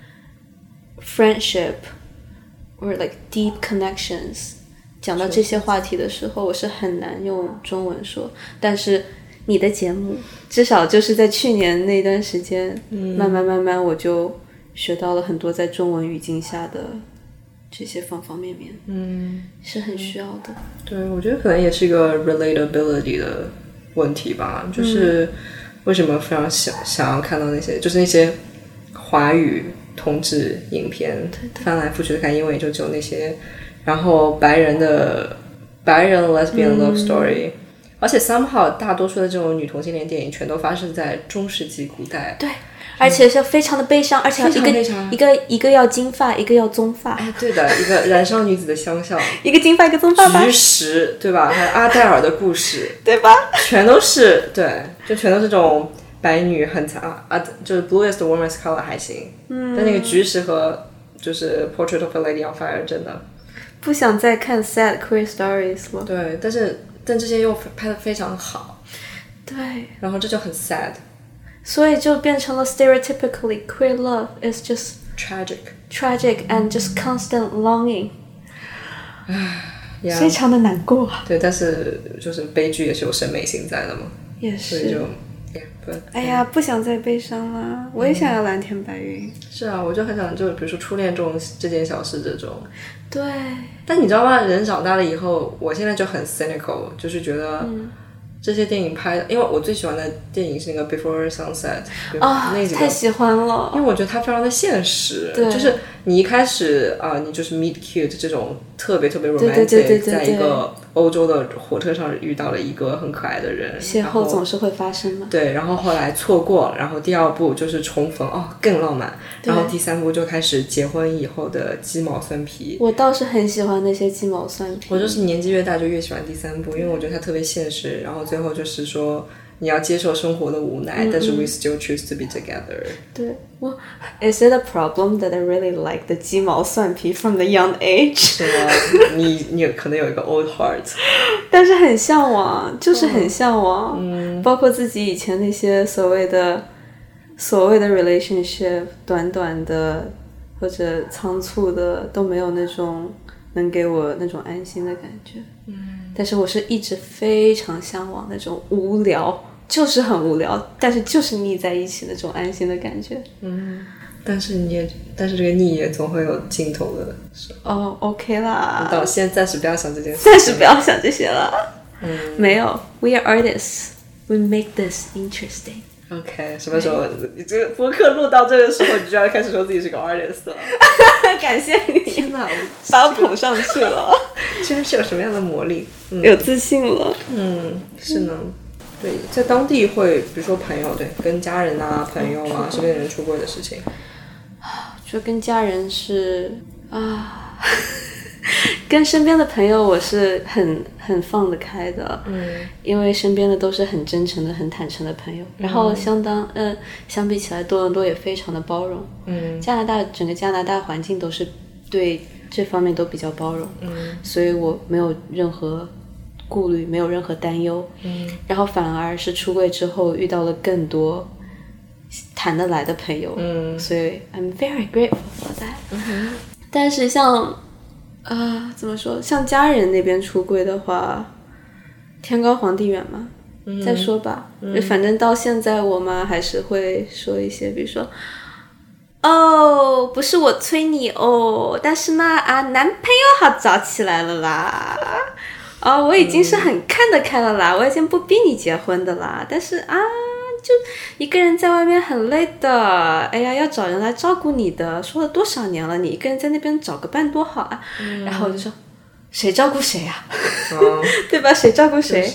friendship or like deep connections， 讲到这些话题的时候，我是很难用中文说。但是你的节目至少就是在去年那段时间，慢慢我就学到了很多在中文语境下的这些方方面面，是很需要的。 对，我觉得可能也是一个 relatability 的问题吧，就是为什么非常想要看到那些华语同志影片，翻来覆去的看，因为就只有那些，然后白人 lesbian love story，而且 somehow 大多数的这种女同性恋电影全都发生在中世纪古代。 对，而且是非常的悲伤，而且一个要金发，一个要棕发。 哎，对的，一个燃烧女子的相像， 一个金发，一个棕发吧。 菊石，对吧？还有阿黛尔的故事， 对吧？ 全都是对，就全都是这种白女很惨啊，就是 Bluest Woman's Color 还行，但那个菊石和就是 Portrait of a Lady on Fire 真的不想再看 sad queer stories 了。 对，但这些又拍得非常好， 对， 然后这就很 sad， 所以就变成了 stereotypically queer love is just tragic and just constant longing， 非常的难过。 对，但是就是悲剧也是有审美性在的嘛， 也是， 所以就哎呀，不想再悲伤了，我也想要蓝天白云。 是啊，我就很想就比如说初恋这件小事这种。 对。 但你知道吗？人长大了以后，我现在就很 cynical， 就是觉得这些电影拍的，因为我最喜欢的电影是那个 Before Sunset， 那几个太喜欢了， 因为我觉得它非常的现实，就是你一开始你就是 meet cute 这种特别特别 romantic， 在一个欧洲的火车上遇到了一个很可爱的人， 邂逅总是会发生嘛。 对，然后后来错过，然后第二部就是重逢，更浪漫，然后第三部就开始结婚以后的鸡毛蒜皮。 我倒是很喜欢那些鸡毛蒜皮， 我就是年纪越大就越喜欢第三部，因为我觉得它特别现实，然后最后就是说你要接受生活的无奈，但是 we still choose to be together。 对，我 Is it a problem that I really like the 鸡毛蒜皮 from the young age？ 是吗？你可能有一个 old heart， 但是很向往，就是很向往。包括自己以前那些所谓的 relationship， 短短的或者仓促的，都没有那种能给我那种安心的感觉。但是我是一直非常向往那种无聊，就是很无聊，但是就是腻在一起那种安心的感觉。 但是这个腻也总会有尽头的。 OK 啦。 到现在暂时不要想这件事， 暂时不要想这些了。没有 ，We are artists. We make this interesting. OK， 什么时候你这个播客录到这个时候，你就要开始说自己是个 artist 了？ 感谢你， 天哪， 把我捧上去了。 居然是有什么样的魔力？ 有自信了。 是呢。对，在当地会，比如说朋友，对，跟家人啊、朋友啊、身边的人出柜的事情。 我觉得跟家人是跟身边的朋友我是很放得开的，因为身边的都是很真诚的、很坦诚的朋友，然后相比起来，多伦多也非常的包容。整个加拿大环境都是对这方面都比较包容，所以我没有任何顾虑，没有任何担忧。然后反而是出柜之后遇到了更多谈得来的朋友，所以 I'm very grateful for that。但是像怎么说，像家人那边出柜的话，天高皇帝远嘛，再说吧。反正到现在我妈还是会说一些，比如说不是我催你但是呢男朋友好找起来了啦，我已经是很看得开了啦，我已经不逼你结婚的啦，但是就一个人在外面很累的，哎呀，要找人来照顾你的，说了多少年了，你一个人在那边找个伴多好啊。然后我就说谁照顾谁啊？对吧？谁照顾谁？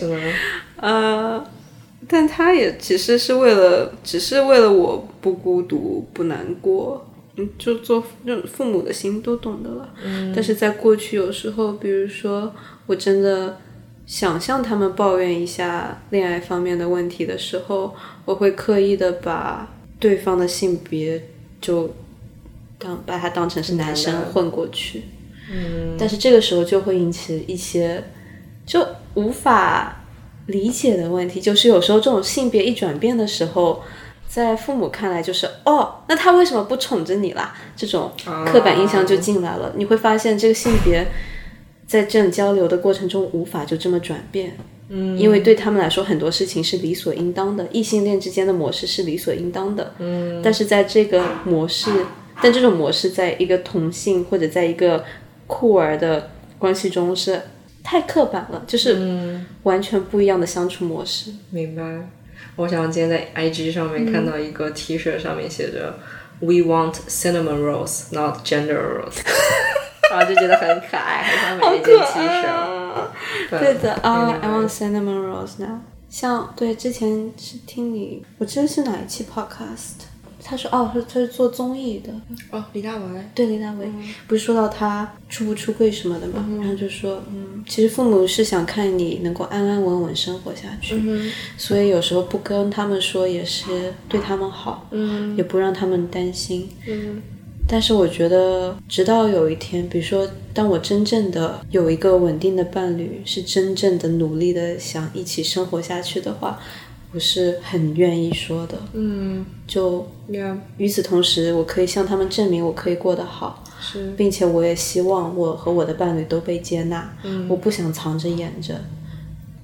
但他也只是为了我不孤独不难过，就做这种父母的心都懂得了。但是在过去有时候，比如说我真的想向他们抱怨一下恋爱方面的问题的时候，我会刻意的把对方的性别就把它当成是男生混过去。但是这个时候就会引起一些就无法理解的问题，就是有时候这种性别一转变的时候，在父母看来就是那他为什么不宠着你啦？这种刻板印象就进来了。你会发现这个性别在这种交流的过程中无法就这么转变，因为对他们来说很多事情是理所应当的，异性恋之间的模式是理所应当的。但是在这个模式，但这种模式在一个同性或者在一个酷儿的关系中是太刻板了，就是完全不一样的相处模式。 明白。我想今天在 IG 上面看到一个 T 恤，上面写着 We want cinnamon rolls, not gender rolls 然后就觉得很可爱，很想买一件 T 恤。 对的I want cinnamon rolls now。像对，之前是听你，我记得是哪一期 podcast， 他说他是做综艺的。 李大为。 对，李大为，不是说到他出不出柜什么的嘛，然后就说其实父母是想看你能够安安稳稳生活下去，所以有时候不跟他们说也是对他们好，也不让他们担心。但是我觉得直到有一天，比如说当我真正的有一个稳定的伴侣，是真正的努力的想一起生活下去的话，我是很愿意说的。就与此同时，我可以向他们证明我可以过得好，并且我也希望我和我的伴侣都被接纳。我不想藏着掖着。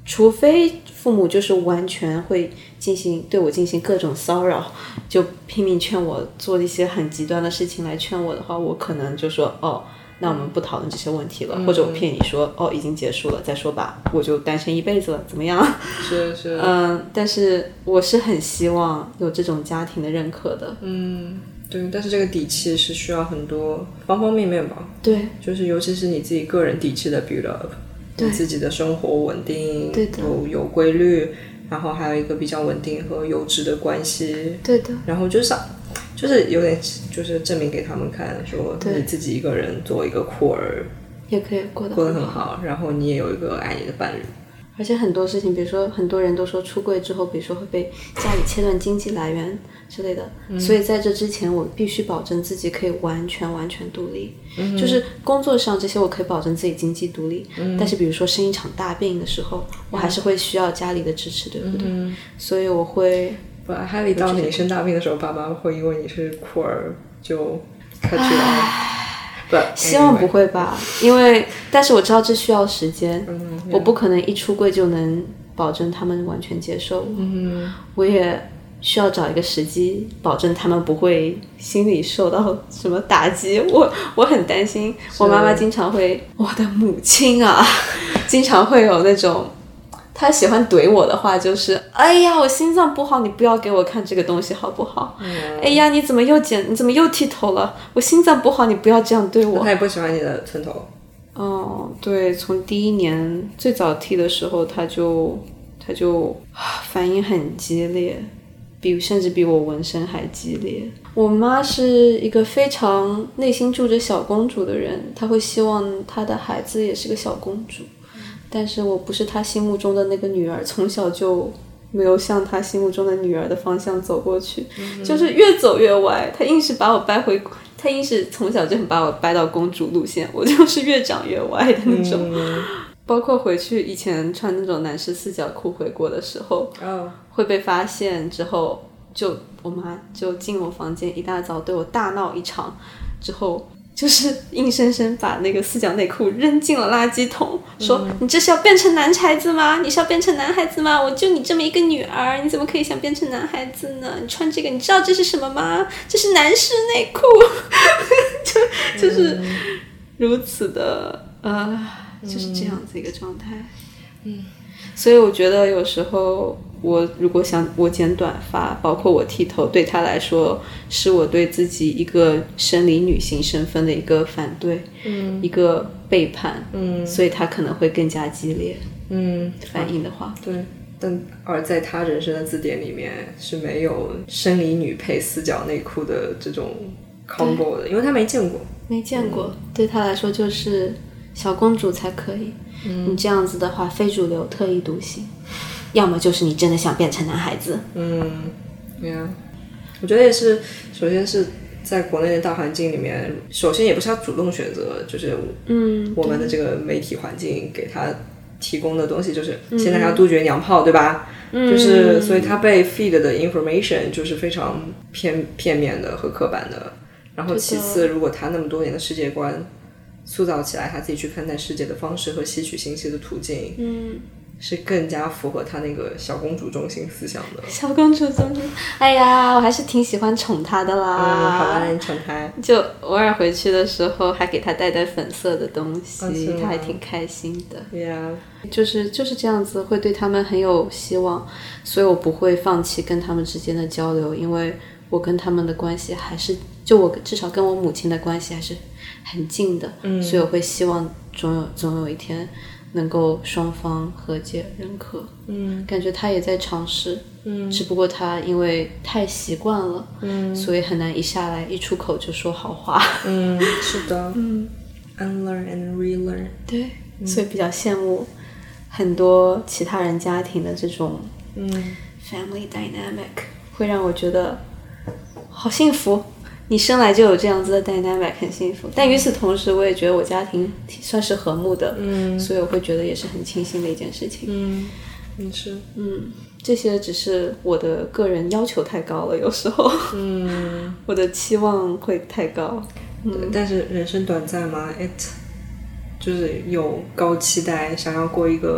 除非父母就是完全会对我进行各种骚扰，就拼命劝我做一些很极端的事情来劝我的话，我可能就说那我们不讨论这些问题了，或者我骗你说已经结束了再说吧，我就单身一辈子了，怎么样？ 是但是我是很希望有这种家庭的认可的。 对，但是这个底气是需要很多方方面面吧。 对， 就是尤其是你自己个人底气的 build up， 你自己的生活稳定， 对的， 有规律，然后还有一个比较稳定和优质的关系。 对的， 然后就是有点就是证明给他们看，说你自己一个人做一个酷儿也可以过得很好，然后你也有一个爱你的伴侣。 而且很多事情，比如说很多人都说出柜之后，比如说会被家里切断经济来源之类的，所以在这之前我必须保证自己可以完全独立，就是工作上这些我可以保证自己经济独立，但是比如说生一场大病的时候，我还是会需要家里的支持，对不对？所以我会还有当你生大病的时候，爸妈会因为你是酷儿就cut you off。 希望不会吧，但是我知道这需要时间，我不可能一出柜就能保证他们完全接受我，我也需要找一个时机，保证他们不会心里受到什么打击。我很担心，我妈妈经常会，我的母亲啊，经常会有那种。他喜欢怼我的话就是哎呀我心脏不好，你不要给我看这个东西好不好？哎呀你怎么又剃头了？我心脏不好，你不要这样对我。 他也不喜欢你的寸头。 对，从第一年最早剃的时候他就反应很激烈，甚至比我纹身还激烈。我妈是一个非常内心住着小公主的人，她会希望她的孩子也是个小公主，但是我不是他心目中的那个女儿，从小就没有向他心目中的女儿的方向走过去，就是越走越歪。他硬是从小就把我掰到公主路线，我就是越长越歪的那种。包括回去以前穿那种男士四角裤回国的时候，会被发现之后，我妈就进我房间，一大早对我大闹一场，之后就是硬生生把那个四角内裤扔进了垃圾桶，说你这是要变成男孩子吗？你是要变成男孩子吗？我就你这么一个女儿，你怎么可以想变成男孩子呢？你穿这个你知道这是什么吗？这是男士内裤。就是如此的就是这样子一个状态。所以我觉得有时候我如果想我剪短发，包括我剃头，对他来说是我对自己一个生理女性身份的一个反对，一个背叛，所以他可能会更加激烈，反应的话， 对。而在他人生的字典里面是没有生理女配四角内裤的这种 combo 的，因为他没见过， 对他来说就是小公主才可以。你这样子的话非主流特立独行，要么就是你真的想变成男孩子。 我觉得也是，首先是在国内的大环境里面，首先也不是他主动选择，就是我们的这个媒体环境给他提供的东西，就是现在要杜绝娘炮，对吧？就是所以他被 feed 的 information 就是非常片面的和刻板的。然后其次，如果他那么多年的世界观塑造起来，他自己去看待世界的方式和吸取信息的途径，是更加符合他那个小公主中心思想的。 小公主中心，哎呀，我还是挺喜欢宠她的啦。 好吧，你宠她， 就偶尔回去的时候还给她带粉色的东西，她还挺开心的。就是这样子，会对他们很有希望，所以我不会放弃跟他们之间的交流，因为我跟他们的关系还是，就我至少跟我母亲的关系还是很近的，所以我会希望总有一天能够双方和解认可。感觉他也在尝试，只不过他因为太习惯了，所以很难一下来一出口就说好话。 是的，unlearn and relearn。 对，所以比较羡慕很多其他人家庭的这种family dynamic，会让我觉得好幸福。你生来就有这样子的 dynamic， 很幸福。但与此同时，我也觉得我家庭算是和睦的，所以我会觉得也是很庆幸的一件事情。 是， 这些只是我的个人要求太高了，有时候，我的期望会太高。 对，但是人生短暂嘛，就是有高期待，想要过一个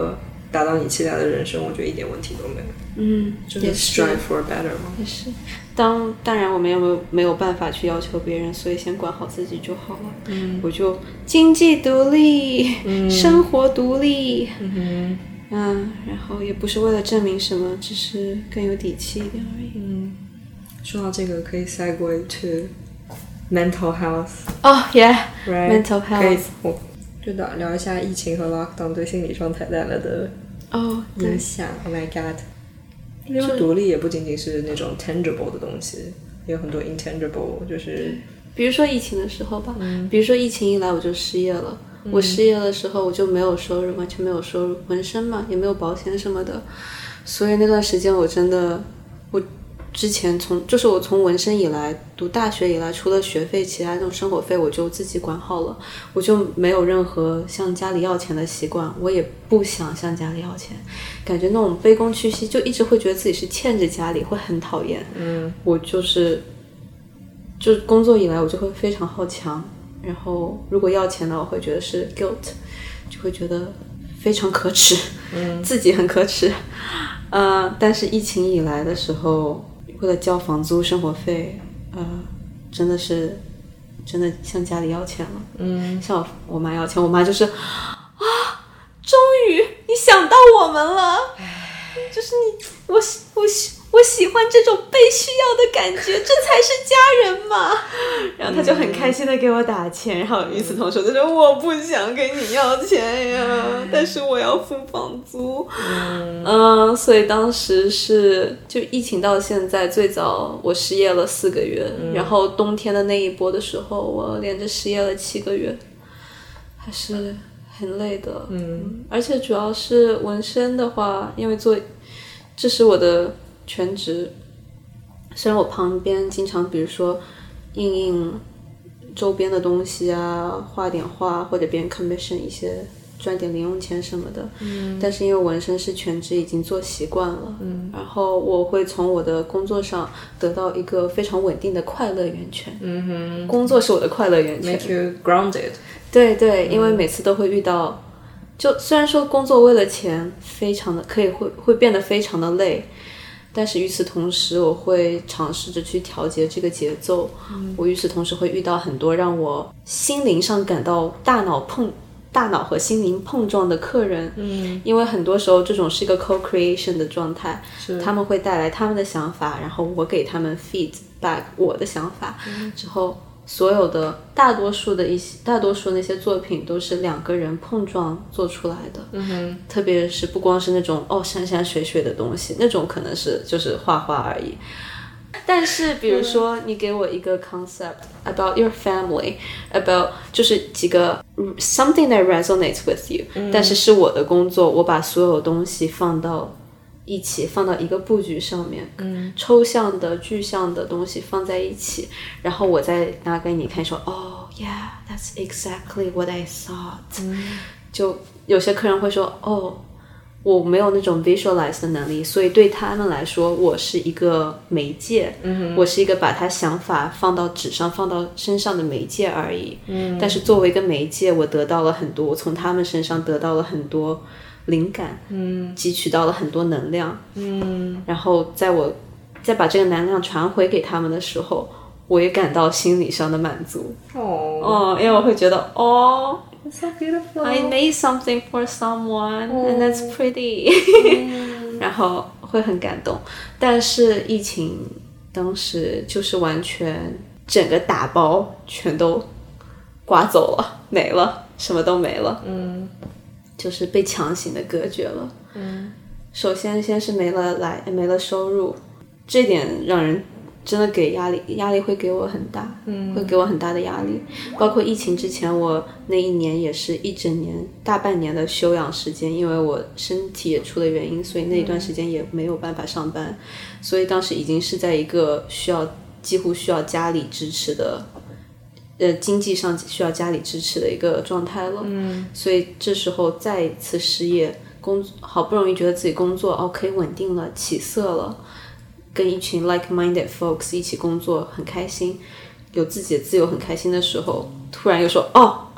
达到你期待的人生，我觉得一点问题都没有。就是 strive for better 嘛。 也是，当然我们没有办法去要求别人，所以先管好自己就好了。我就经济独立，生活独立。然后也不是为了证明什么，只是更有底气一点而已。 说到这个，可以 segue to mental health。 Yeah，right. Mental health。 可以，就聊一下疫情和 lockdown 对心理状态带来的影响。Oh my god！ 因为独立也不仅仅是那种 tangible 的东西，也有很多 intangible， 就是比如说疫情的时候吧，比如说疫情一来我就失业了。我失业的时候我就没有收入，完全没有收入，纹身嘛也没有保险什么的，所以那段时间我之前我从纹身以来，读大学以来，除了学费，其他那种生活费我就自己管好了，我就没有任何向家里要钱的习惯，我也不想向家里要钱，感觉那种卑躬屈膝，就一直会觉得自己是欠着家里，会很讨厌。我就工作以来我就会非常好强，然后如果要钱呢，我会觉得是 guilt， 就会觉得非常可耻，自己很可耻。但是疫情以来的时候，为了交房租生活费，真的向家里要钱了。向我妈要钱，我妈就是终于你想到我们了，就是我喜欢这种被需要的感觉，这才是家人嘛。然后她就很开心的给我打钱，然后与此同时就说我不想给你要钱呀，但是我要付房租。所以当时就疫情到现在，最早我失业了4个月，然后冬天的那一波的时候，我连着失业了7个月，还是很累的。而且主要是纹身的话，因为这是我的全职，虽然我旁边经常比如说印周边的东西啊，画点画，或者别人 commission 一些赚点零用钱什么的，但是因为纹身是全职，已经做习惯了，然后我会从我的工作上得到一个非常稳定的快乐源泉。工作是我的快乐源泉 ，make you grounded。 对，因为每次都会遇到，就虽然说工作为了钱非常的会变得非常的累，但是与此同时我会尝试着去调节这个节奏。我与此同时会遇到很多让我心灵上感到大脑和心灵碰撞的客人。因为很多时候这种是一个 co-creation 的状态，他们会带来他们的想法，然后我给他们 feedback 我的想法，之后所有的大多数那些作品都是2个人碰撞做出来的。特别是不光是那种山山水水的东西，那种可能就是画画而已。但是比如说你给我一个 concept about your family, about 就是几个 something that resonates with you, 但是我的工作，我把所有东西放到一起，放到一个布局上面，抽象的具象的东西放在一起，然后我再拿给你看，说yeah, that's exactly what I thought。就有些客人会说我没有那种 visualize 的能力，所以对他们来说我是一个媒介，我是一个把他想法放到纸上放到身上的媒介而已。但是作为一个媒介，我得到了很多，我从他们身上得到了很多灵感，汲取到了很多能量，然后再把这个能量传回给他们的时候，我也感到心理上的满足。因为我会觉得 It's so beautiful. I made something for someone, and that's pretty. 然后会很感动。但是疫情当时就是完全整个打包全都刮走了，没了，什么都没了。就是被强行的隔绝了。首先是没了收入，这点让人真的给压力会给我很大，会给我很大的压力。包括疫情之前，我那一年也是一整年大半年的休养时间，因为我身体也出了原因，所以那一段时间也没有办法上班，所以当时已经是在一个几乎需要家里支持的经济上需要家里支持的一个状态了。所以这时候再一次失业，好不容易觉得自己工作可以稳定了，起色了，跟一群 like-minded folks 一起工作很开心，有自己的自由很开心的时候，突然又说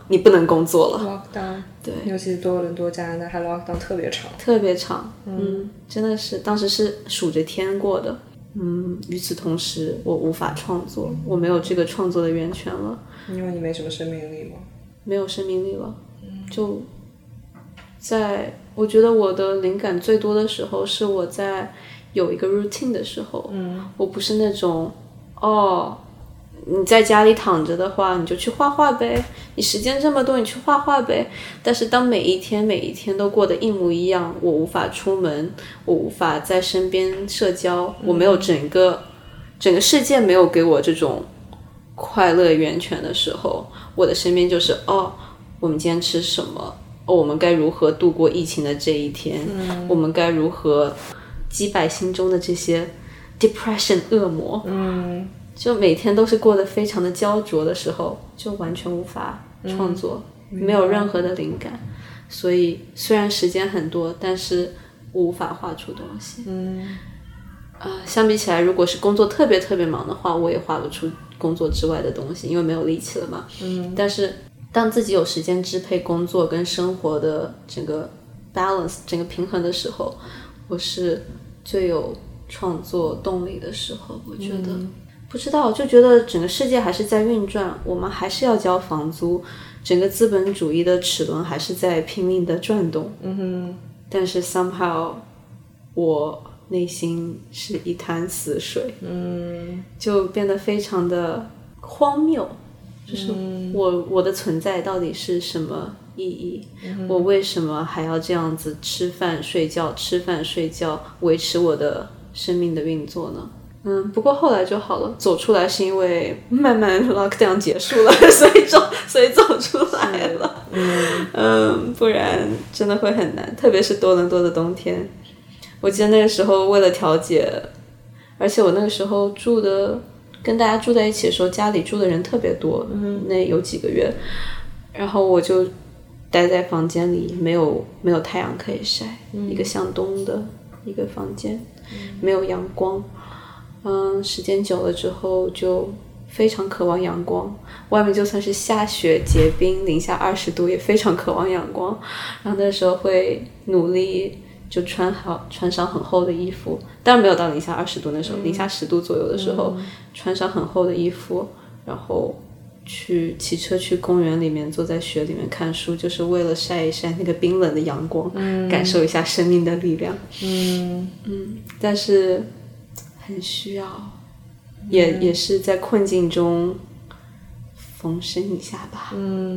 你不能工作了。 lockdown， 对， 尤其是多伦多、加拿大，还 lockdown 特别长， 特别长。真的是当时是数着天过的。与此同时，我无法创作，我没有这个创作的源泉了。 因为你没什么生命力吗？ 没有生命力了。就在我觉得我的灵感最多的时候，是我在有一个 routine 的时候。我不是那种你在家里躺着的话，你就去画画呗，你时间这么多，你去画画呗。但是当每一天都过得一模一样，我无法出门，我无法在身边社交，我没有整个世界没有给我这种快乐源泉的时候，我的身边就是我们今天吃什么，我们该如何度过疫情的这一天，我们该如何击败心中的这些 depression 恶魔。就每天都是过得非常的焦灼的时候，就完全无法创作，没有任何的灵感。所以虽然时间很多，但是我无法画出东西。相比起来，如果是工作特别特别忙的话，我也画不出工作之外的东西，因为没有力气了嘛。但是当自己有时间支配工作跟生活的整个 balance 整个平衡的时候，我是最有创作动力的时候。我觉得不知道，就觉得整个世界还是在运转，我们还是要交房租，整个资本主义的齿轮还是在拼命的转动。但是 somehow 我内心是一潭死水。就变得非常的荒谬，就是我的存在到底是什么意义？我为什么还要这样子吃饭睡觉维持我的生命的运作呢？不过后来就好了，走出来是因为慢慢 lockdown 结束了，所以走出来了。不然真的会很难，特别是多伦多的冬天。我记得那个时候为了调节，而且我那个时候跟大家住在一起的时候，家里住的人特别多，那有几个月，然后我就待在房间里，没有太阳可以晒，一个向东的一个房间，没有阳光。时间久了之后就非常渴望阳光，外面就算是下雪结冰零下20度也非常渴望阳光。然后那时候会努力就穿上很厚的衣服，当然没有到零下20度，那时候零下10度左右的时候，穿上很厚的衣服，然后去骑车去公园里面，坐在雪里面看书，就是为了晒一晒那个冰冷的阳光，感受一下生命的力量。但是很需要，也是在困境中逢生一下吧。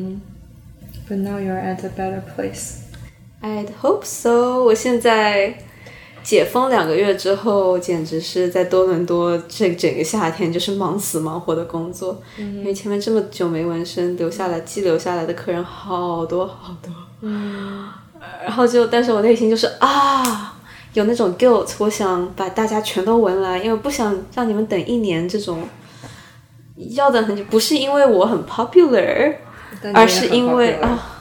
But now you're at a better place. I'd hope so. 我现在解封2个月之后，简直是在多伦多这整个夏天就是忙死忙活的工作。因为前面这么久没纹身，寄留下来的客人好多好多。然后但是我内心就是有那种 guilt， 我想把大家全都纹来，因为不想让你们等1年这种要等很久，不是因为我很 popular， 而是因为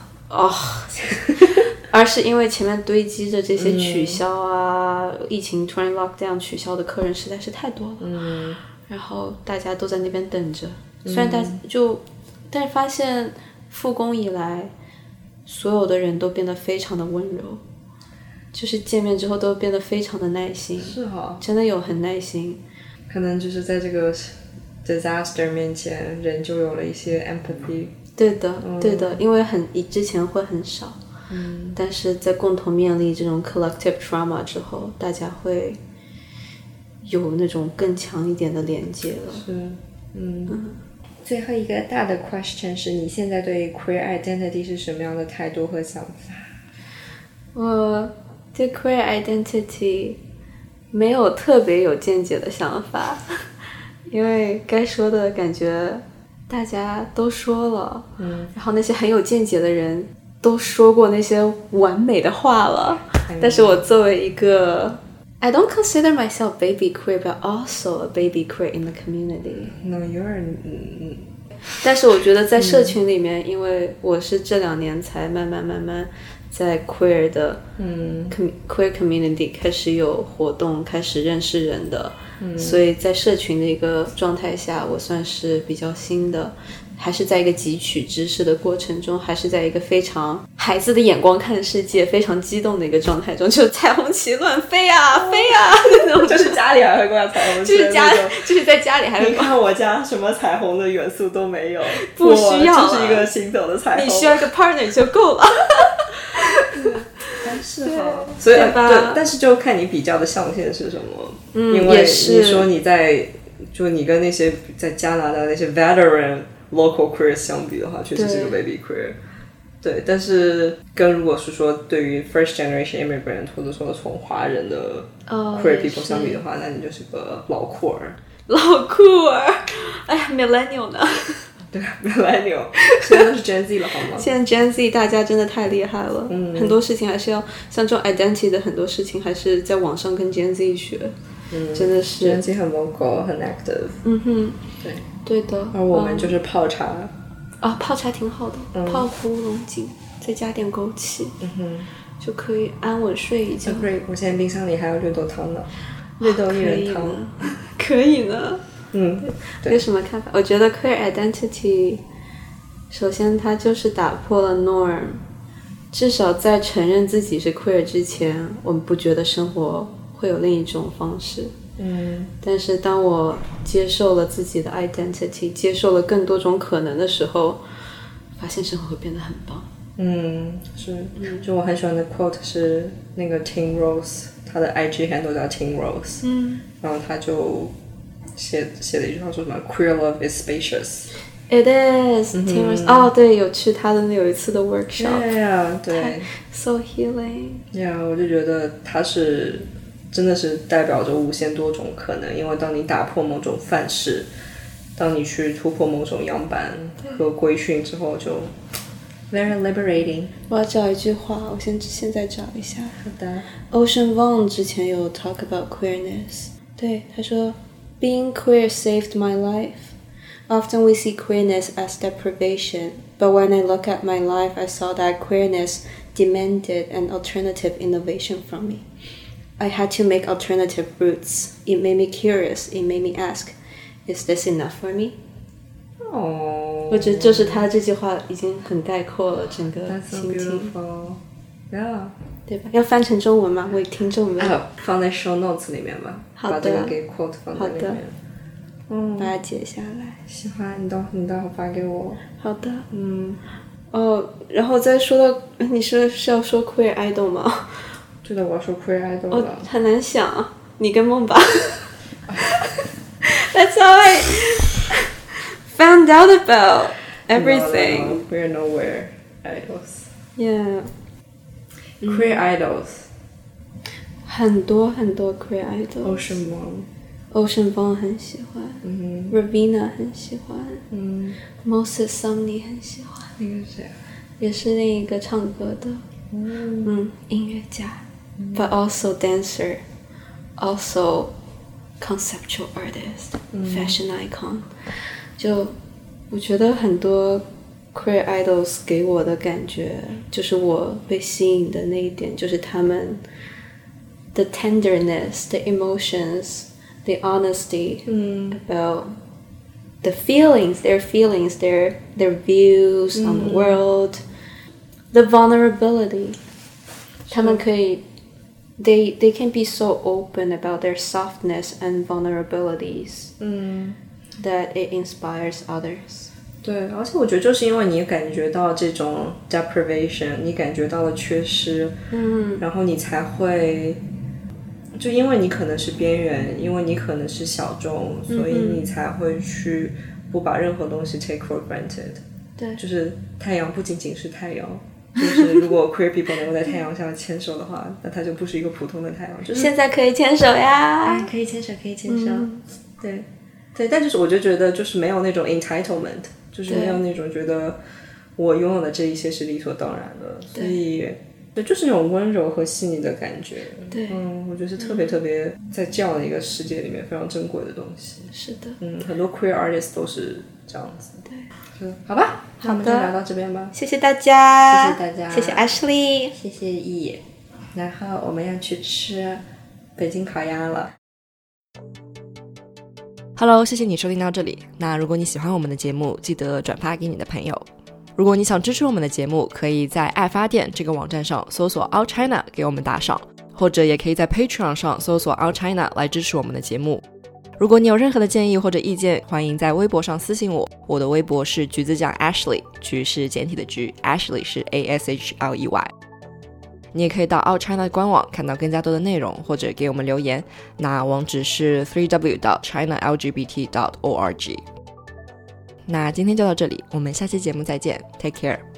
而是因为前面堆积着这些取消疫情突然 lockdown 取消的客人实在是太多了。然后大家都在那边等着，虽然但是发现复工以来，所有的人都变得非常的温柔。就是见面之后都变得非常的耐心， 是真的有很耐心。 可能就是在这个 disaster 面前，人就有了一些 empathy。 对的，因为之前会很少，但是在共同面临这种 collective trauma 之后，大家会有那种更强一点的连接了。 是，最后一个大的 question 是你现在对 queer identity 是什么样的态度和想法？ 我对 queer identity 没有特别有见解的想法，因为该说的感觉大家都说了，然后那些很有见解的人都说过那些完美的话了，但是我作为一个 I don't consider myself baby queer, but also a baby queer in the community. No, you're 但是我觉得在社群里面，因为我是这2年才慢慢在 queer 的queer community 开始有活动，开始认识人的，所以在社群的一个状态下，我算是比较新的， 还是在一个汲取知识的过程中，还是在一个非常孩子的眼光看世界非常激动的一个状态中，就彩虹旗乱飞啊飞啊那种， 就是家里还会挂彩虹旗， 就是在家里还会你看我家什么彩虹的元素都没有， 不需要， 就是一个行走的彩虹， 你需要一个 partner 就够了但是哈，所以对，但是就看你比较的象限是什么。因为你说你跟那些在加拿大那些 veteran local queer 相比的话，确实是个 baby queer。对，但是跟如果是说对于 first generation immigrant 或者说从华人的 queer people 相比的话，那你就是个老酷儿。 老酷儿，哎呀 millennial 呢？ 对 millennial 现在都是 Gen Z 了好吗？ 现在 Gen Z 大家真的太厉害了，很多事情还是要像这种 identity 的很多事情还是在网上跟 Gen Z 学，真的是 Gen Z 很 vocal 很 active， 对的。 而我们就是泡茶泡茶挺好的，泡胡龙井再加点枸杞，就可以安稳睡一觉。 我现在冰箱里还有绿豆汤呢，绿豆薏仁汤， 可以呢。有什么看法？我觉得 queer identity 首先它就是打破了 norm， 至少在承认自己是 queer 之前，我们不觉得生活会有另一种方式。但是当我接受了自己的 identity， 接受了更多种可能的时候，发现生活会变得很棒。 是，就我很喜欢的 quote 是那个 Tim Rose， 他的 IG handle 叫 Tim Rose，然后他就写了一句话说什么 Queer love is spacious。 It is Tim Rose，对，有去他的有一次的 workshop， 对 so healing。 我就觉得他是真的是代表着无限多种可能，因为当你打破某种范式，当你去突破某种样板和规训之后，就 very liberating。 我要找一句话，我现在找一下。 好的。 Ocean Vuong 之前有 talk about queerness， 对，他说 Being queer saved my life. Often we see queerness as deprivation, but when I look at my life, I saw that queerness demanded an alternative innovation from me. I had to make alternative routes. It made me curious. It made me ask, is this enough for me? 我觉得就是他这句话已经很概括了整个心情。 Yeah， 对吧？要翻成中文吗？为听众们放在 show notes 里面吧。 好的， 把这个给 quote 放在里面。 把它截下来。 喜欢你待会发给我。 好的。然后再说到你是要说 queer idol 吗？ 对的，我要说 queer idol 了。 很难想啊，你跟梦吧。That's how I found out about everything. No, we're nowhere idols. Yeah. Queer idols. 很多 queer idols. Ocean Vuong 很喜欢，Ravina 很喜欢，Moses Sumney 很喜欢。 那个谁？ 也是另一个唱歌的，音乐家，but also dancer, also conceptual artist, fashion icon。就我觉得很多 queer idols 给我的感觉，就是我被吸引的那一点，就是他们 the tenderness, the emotions.The honesty about the feelings, their views on the world, the vulnerability. 他们可以 they can be so open about their softness and vulnerabilities that it inspires others. 对，而且我觉得就是因为你感觉到这种 deprivation， 你感觉到了缺失，然后你才会。就因为你可能是边缘，因为你可能是小众，所以你才会去不把任何东西 take for granted。 对， 就是太阳不仅仅是太阳，就是如果 queer people 能够在太阳下牵手的话，那它就不是一个普通的太阳。就是现在可以牵手呀， 可以牵手，对，但就是我就觉得就是没有那种 entitlement， 就是没有那种觉得我拥有的这一些是理所当然的，所以对，就是那种温柔和细腻的感觉。 对， 我觉得是特别特别在这样的一个世界里面非常珍贵的东西。 是的， 很多 queer artists 都是这样子。 对， 是，好吧，那我们就聊到这边吧。 谢谢大家， 谢谢大家， 谢谢 Ashley， 谢谢E，然后我们要去吃北京烤鸭了。 Hello， 谢谢你收听到这里。那如果你喜欢我们的节目，记得转发给你的朋友。如果你想支持我们的节目，可以在爱发电这个网站上搜索 Out China 给我们打赏，或者也可以在 Patreon 上搜索 Out China 来支持我们的节目。如果你有任何的建议或者意见，欢迎在微博上私信我。我的微博是橘子酱 Ashley， 橘是简体的橘， Ashley 是 ASHLEY。 你也可以到 Out China 官网看到更加多的内容，或者给我们留言，那网址是 www.chinalgbt.org。 那今天就到这里，我们下期节目再见， Take care。